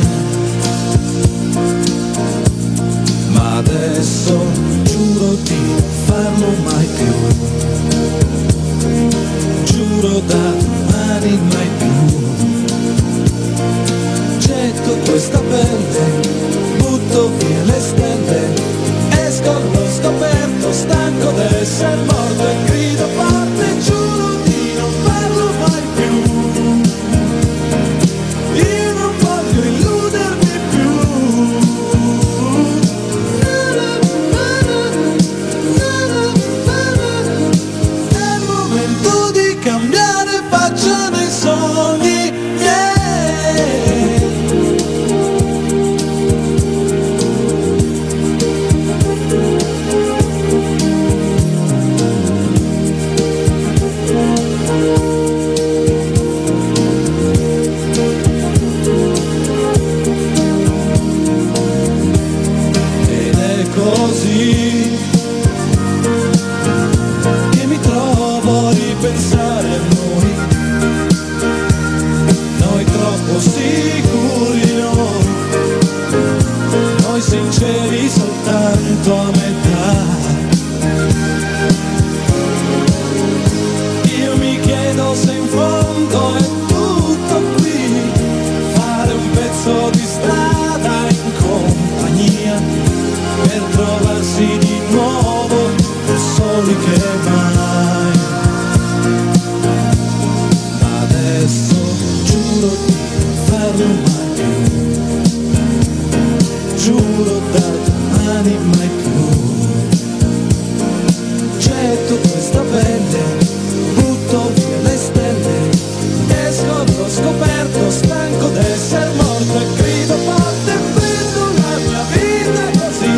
Ma adesso giuro di non farlo mai più, giuro da domani mai più. Getto questa pelle, butto via le stelle, esco allo scoperto, stanco d'essere morto e grido forte, giuro di non farlo mai più. Io non voglio illudermi più. Cambiare faccia nei sogni, yeah. Ed è così che mi trovo a ripensare a noi, noi troppo sicuri noi, noi sinceri soltanto a metà. Io mi chiedo se in fondo è tutto qui, fare un pezzo di strada in compagnia, per trovarsi di nuovo più soli che mai. Ma adesso giuro di non farlo mai più, giuro da domani mai più. Getto questa pelle, butto via le stelle, esco allo scoperto, stanco d'essere morto e grido forte e prendo la mia vita così,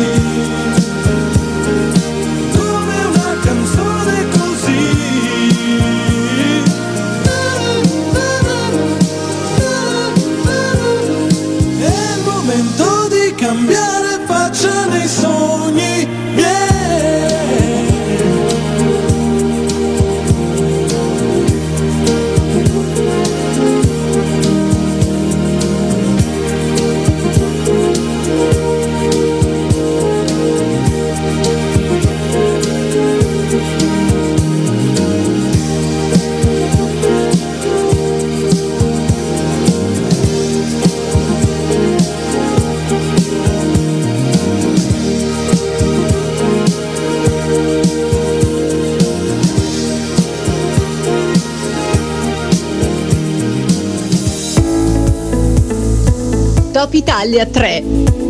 come una canzone così. È il momento di cambiare faccia nei sogni, yeah. Top Italia tre.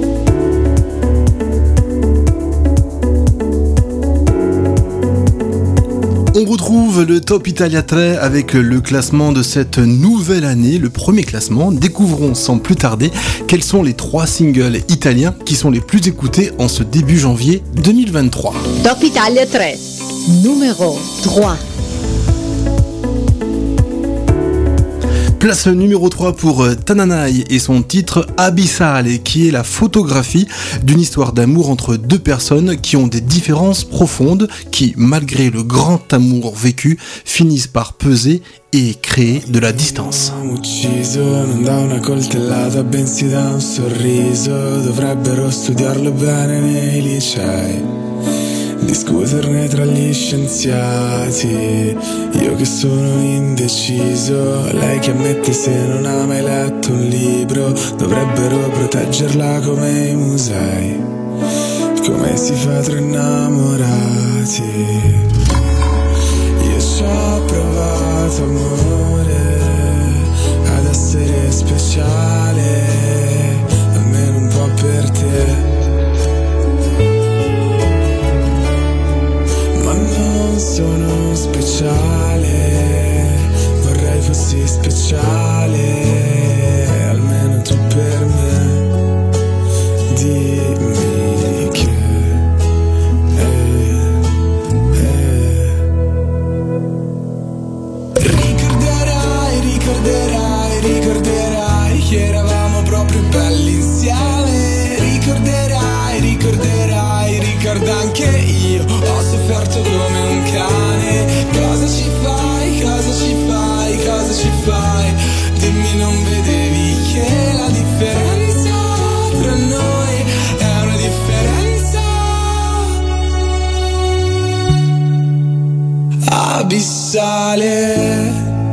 On retrouve le Top Italia tre avec le classement de cette nouvelle année, le premier classement. Découvrons sans plus tarder quels sont les trois singles italiens qui sont les plus écoutés en ce début janvier deux mille vingt-trois. Top Italia tre, numéro trois. Place numéro trois pour Tananai et son titre Abyssale, qui est la photographie d'une histoire d'amour entre deux personnes qui ont des différences profondes, qui, malgré le grand amour vécu, finissent par peser e créer de la distance. Ucciso non da una coltellata bensì da un sorriso, dovrebbero studiarlo bene nei licei, discuterne tra gli scienziati. Io che sono indeciso, lei che ammette se non ha mai letto un libro, dovrebbero proteggerla come i musei, come si fa tra innamorati. Io ci ho provato amore ad essere speciale, almeno un po' per te. Sono speciale, vorrei fossi speciale, almeno tu per me. Dimmi che eh, eh. Ricorderai, ricorderai, ricorderai che eravamo proprio belli insieme. Ricorderai, ricorderai, ricorda anche io, ho sofferto come un cane. Cosa ci fai, cosa ci fai, cosa ci fai? Dimmi, non vedevi che la differenza tra noi è una differenza abissale.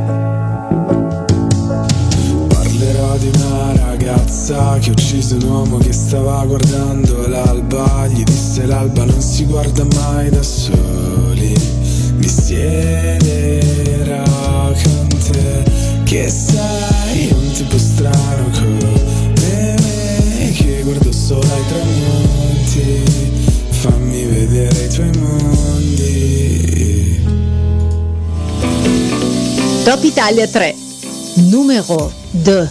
Parlerò di una ragazza che uccise un uomo che stava guardando l'alba. Gli disse l'alba non si guarda mai da soli, mi siederò con te, che sei un tipo strano come me, che guardo solo ai tramonti, fammi vedere i tuoi mondi. Top Italia tre, numéro deux.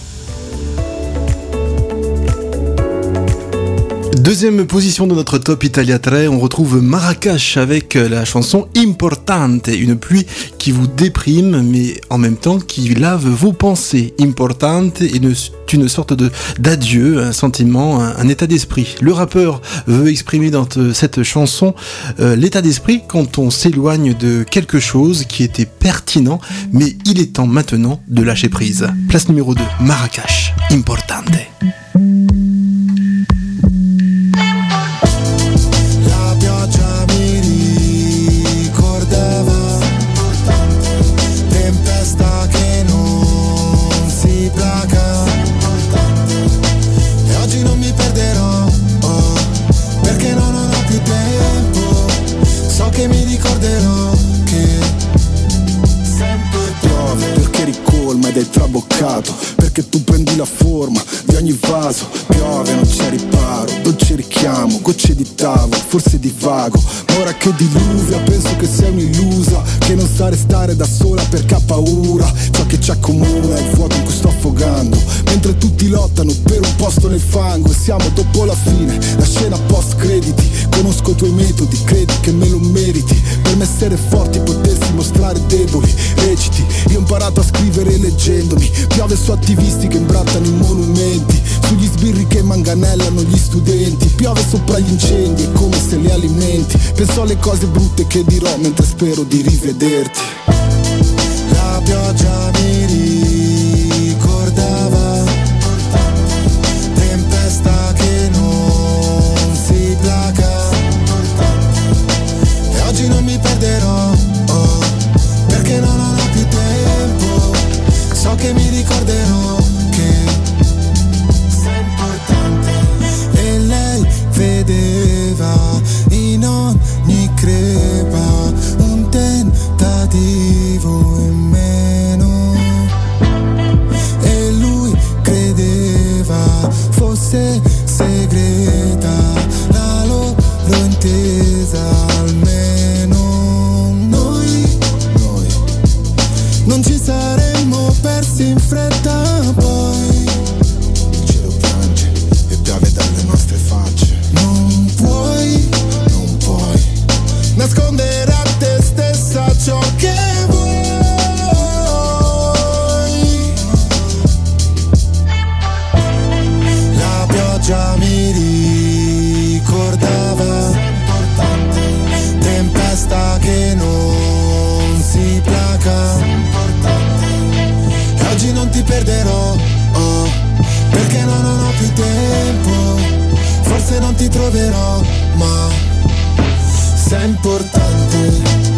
Deuxième position de notre Top Italia tre, on retrouve Marrakech avec la chanson Importante, une pluie qui vous déprime mais en même temps qui lave vos pensées. Importante est une, une sorte de, d'adieu, un sentiment, un, un état d'esprit. Le rappeur veut exprimer dans cette chanson euh, l'état d'esprit quand on s'éloigne de quelque chose qui était pertinent, mais il est temps maintenant de lâcher prise. Place numéro deux, Marrakech, Importante. Che mi ricorderò che sempre piove perché ricolma ed è traboccato, perché tu prendi la forma di ogni vaso. Piove, non c'è riparo, dolce richiamo, gocce di tavolo, forse di vago. Ma ora che diluvia penso che sei un'illusa, che non sa restare da sola perché ha paura. Ciò che ci accomuna è il fuoco in cui sto affogando, mentre tutti lottano per un posto nel fango. E siamo dopo la fine, la scena post crediti. Conosco i tuoi metodi, credi che me lo meriti. Per me essere forti, potersi mostrare deboli. Reciti, io ho imparato a scrivere leggendomi. Piove su attivisti che imbrattano i monumenti, sugli sbirri che manganellano gli studenti. Piove sopra gli incendi, è come se li alimenti. Penso alle cose brutte che dirò mentre spero di rivederti. La pioggia mi ricordava, tempesta che non si placa. E oggi non mi perderò, oh, perché non ho più tempo. So che mi ricorderò che sei importante. E lei vedeva in ogni crepa un tentativo in meno. troverò, ma sei importante.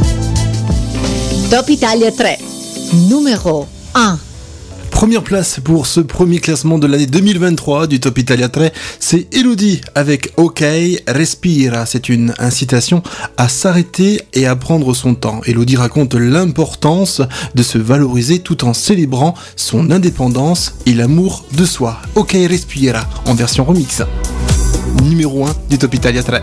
Top Italia tre, numéro un. Première place pour ce premier classement de l'année deux mille vingt-trois du Top Italia tre, c'est Elodie avec OK, Respira. C'est une incitation à s'arrêter et à prendre son temps. Elodie raconte l'importance de se valoriser tout en célébrant son indépendance et l'amour de soi. OK, Respira en version remix. Numéro un du Top Italia tre.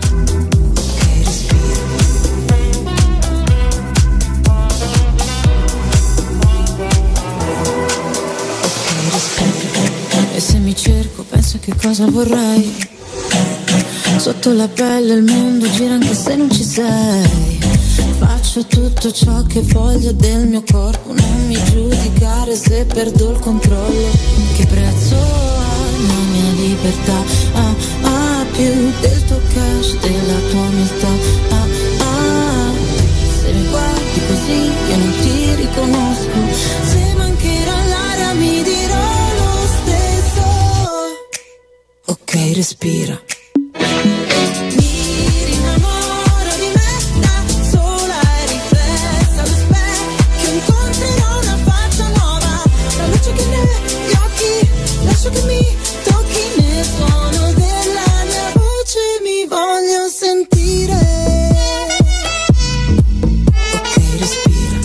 E se mi cerco penso che cosa vorrei. Sotto la pelle il mondo gira anche se non ci sei. Faccio tutto ciò che voglio del mio corpo. Non mi giudicare se perdo il controllo. Che prezzo ha la mia libertà? Ah, ah, più del tuo cash, della tua umiltà. Ah, ah, se mi guardi così io non ti riconosco. Se mancherà l'aria mi dirò ok, respira. Mi rinnamoro di me da sola e riflessa allo specchio. Incontrerò una faccia nuova, la luce che negli occhi, lascio che mi tocchi nel suono della mia voce. Mi voglio sentire. Ok, respira.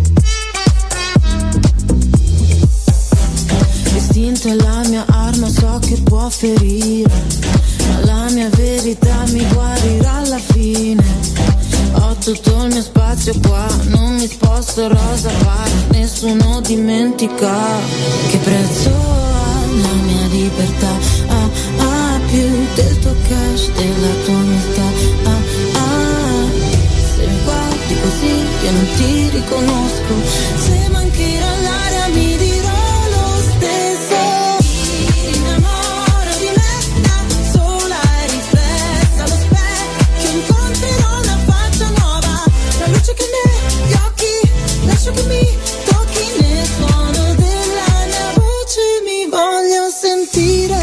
L'istinto è la mia arma, so che può ferire, ma la mia verità mi guarirà alla fine. Ho tutto il mio spazio qua, non mi sposto rosa pari, nessuno dimentica. Che prezzo ha la mia libertà? Ah, ah, più del tuo cash, della tua umiltà. Ah, ah, se mi guardi così io non ti riconosco. Se mancherà l'aria mi dirò lo stesso. Lascio che mi tocchi nel suono della mia voce, mi voglio sentire.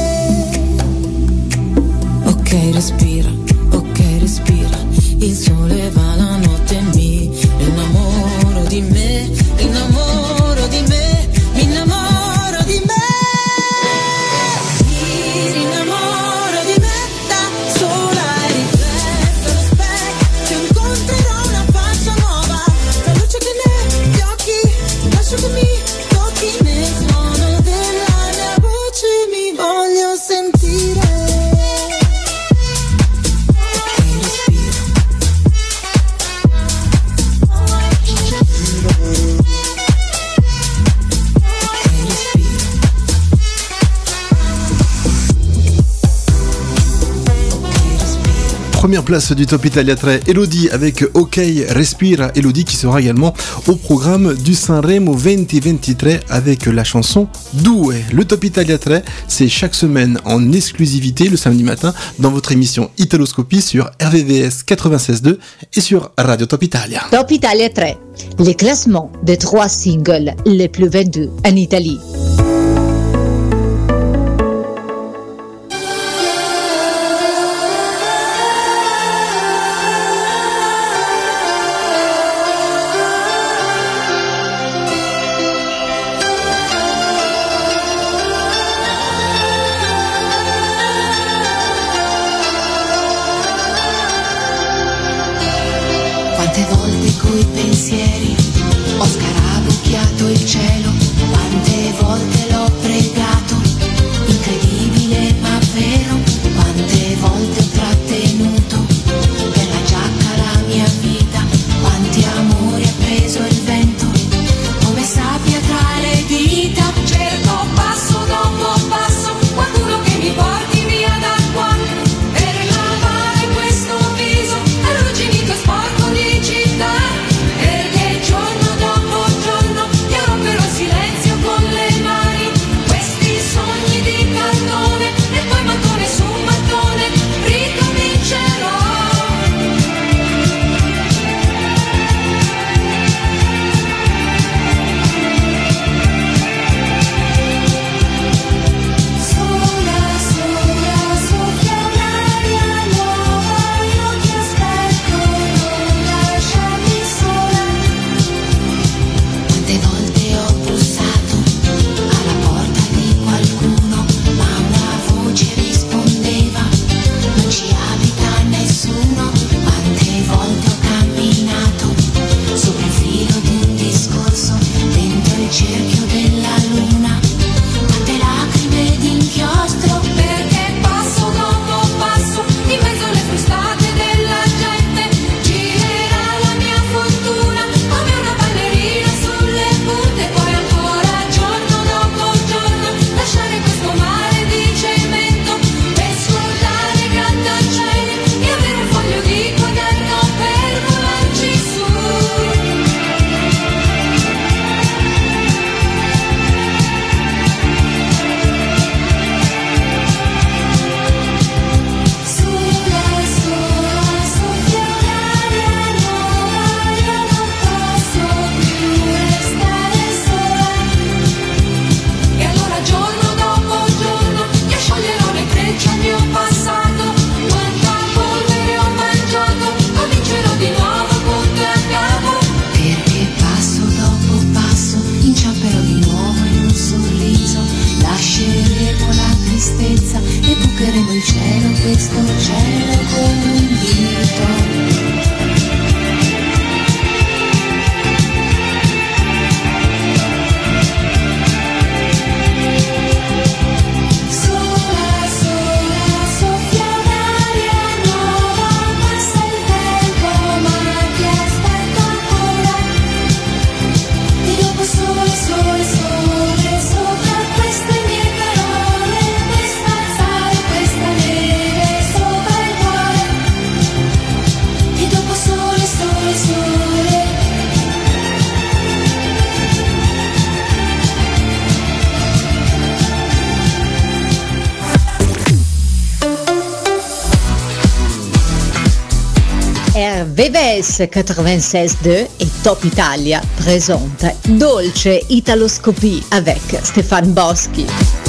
Ok, respira, ok, respira. Il sole va, la notte mi innamoro di me, innamoro di me, mi innamoro di me. Mi rinnamoro di me da sola e riflessa allo specchio. Incontrerò una faccia nuova, la luce che negli occhi, lascio che mi tocchi nel suono della mia voce, mi voglio sentire. Première place du Top Italia tre, Elodie avec OK, Respira. Elodie qui sera également au programme du Sanremo vingt vingt-trois avec la chanson Due. Le Top Italia tre, c'est chaque semaine en exclusivité le samedi matin dans votre émission Italoscopie sur R V V S quatre-vingt-seize deux et sur Radio Top Italia. Top Italia tre, les classements des trois singles les plus vendus en Italie. Quante volte coi pensieri ho scarabocchiato il cielo, quante volte questo cielo con un dito. R V V S quatre-vingt-seize deux et Top Italia présente Dolce Italoscopie avec Stéphane Boschi.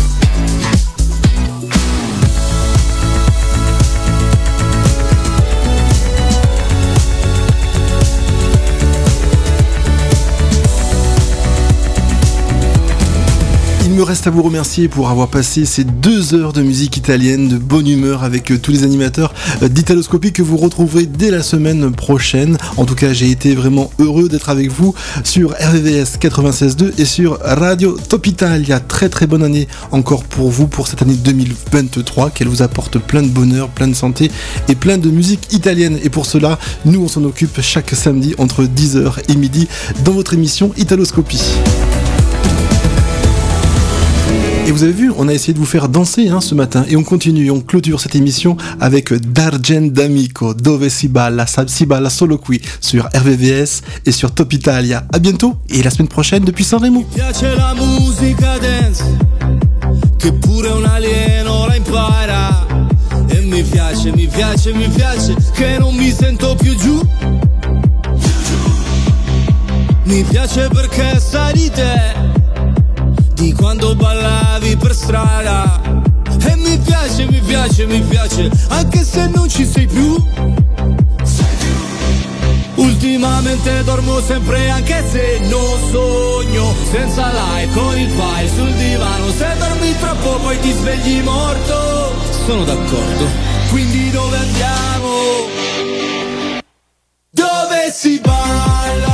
Il me reste à vous remercier pour avoir passé ces deux heures de musique italienne de bonne humeur avec tous les animateurs d'Italoscopie que vous retrouverez dès la semaine prochaine. En tout cas, j'ai été vraiment heureux d'être avec vous sur R V V S quatre-vingt-seize deux et sur Radio Top Italia. Très très bonne année encore pour vous pour cette année deux mille vingt-trois, qu'elle vous apporte plein de bonheur, plein de santé et plein de musique italienne. Et pour cela, nous on s'en occupe chaque samedi entre dix heures et midi dans votre émission Italoscopie. Et vous avez vu, on a essayé de vous faire danser hein, ce matin et on continue, on clôture cette émission avec D'Argent d'Amico, Dove si balla, si balla solo qui sur R V V S et sur Top Italia. A bientôt et la semaine prochaine depuis Sanremo. Mi piace la musica dance, che pure un alieno la impara. E mi piace, mi piace, mi piace, che non mi sento più giù. Mi piace perché sai di te, di quando ballavi per strada. E mi piace, mi piace, mi piace, anche se non ci sei più. Ultimamente dormo sempre anche se non sogno, senza like con il pai sul divano. Se dormi troppo poi ti svegli morto. Sono d'accordo, quindi dove andiamo? Dove si balla?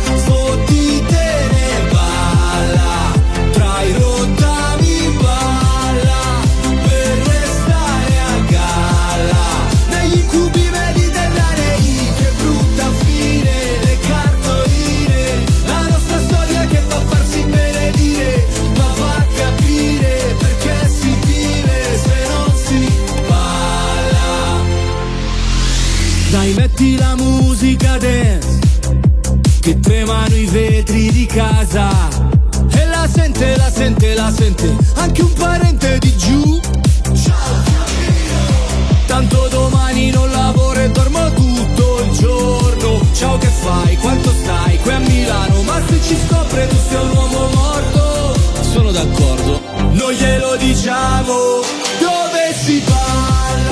Dai, metti la musica dance, che tremano i vetri di casa. E la sente, la sente, la sente anche un parente di giù. Tanto domani non lavoro e dormo tutto il giorno. Ciao, che fai? Quanto stai? Qui a Milano. Ma se ci scopre tu sei un uomo morto. Sono d'accordo, non glielo diciamo. Dove si balla?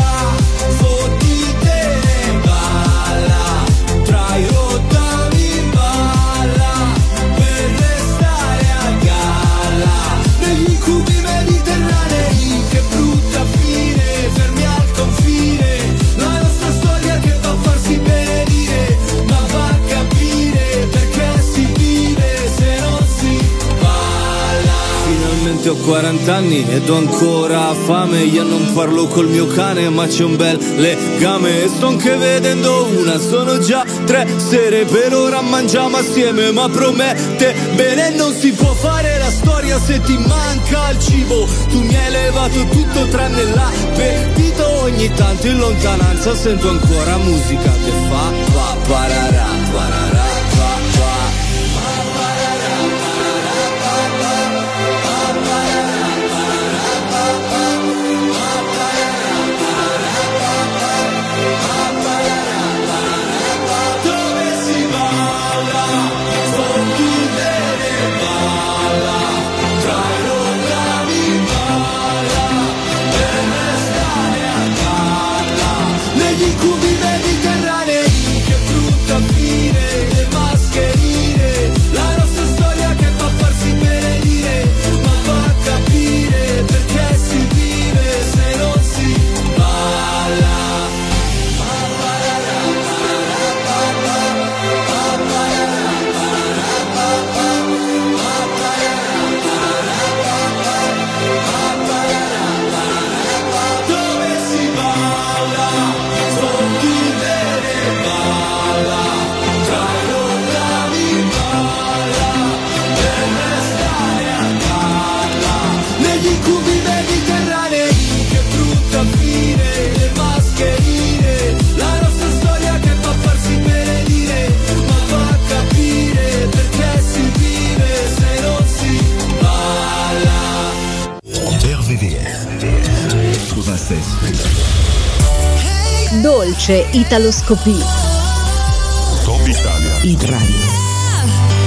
Ho quaranta anni ed ho ancora fame. Io non parlo col mio cane ma c'è un bel legame. E sto anche vedendo una, sono già tre sere. Per ora mangiamo assieme ma promette bene. Non si può fare la storia se ti manca il cibo. Tu mi hai levato tutto tranne l'appetito. Ogni tanto in lontananza sento ancora musica che fa pa pararà, pararà. Negli incubi mediterranei, che brutta fine. R V V S quatre-vingt-seize. Dolce Italoscopie. Top Italia. Hit Radio.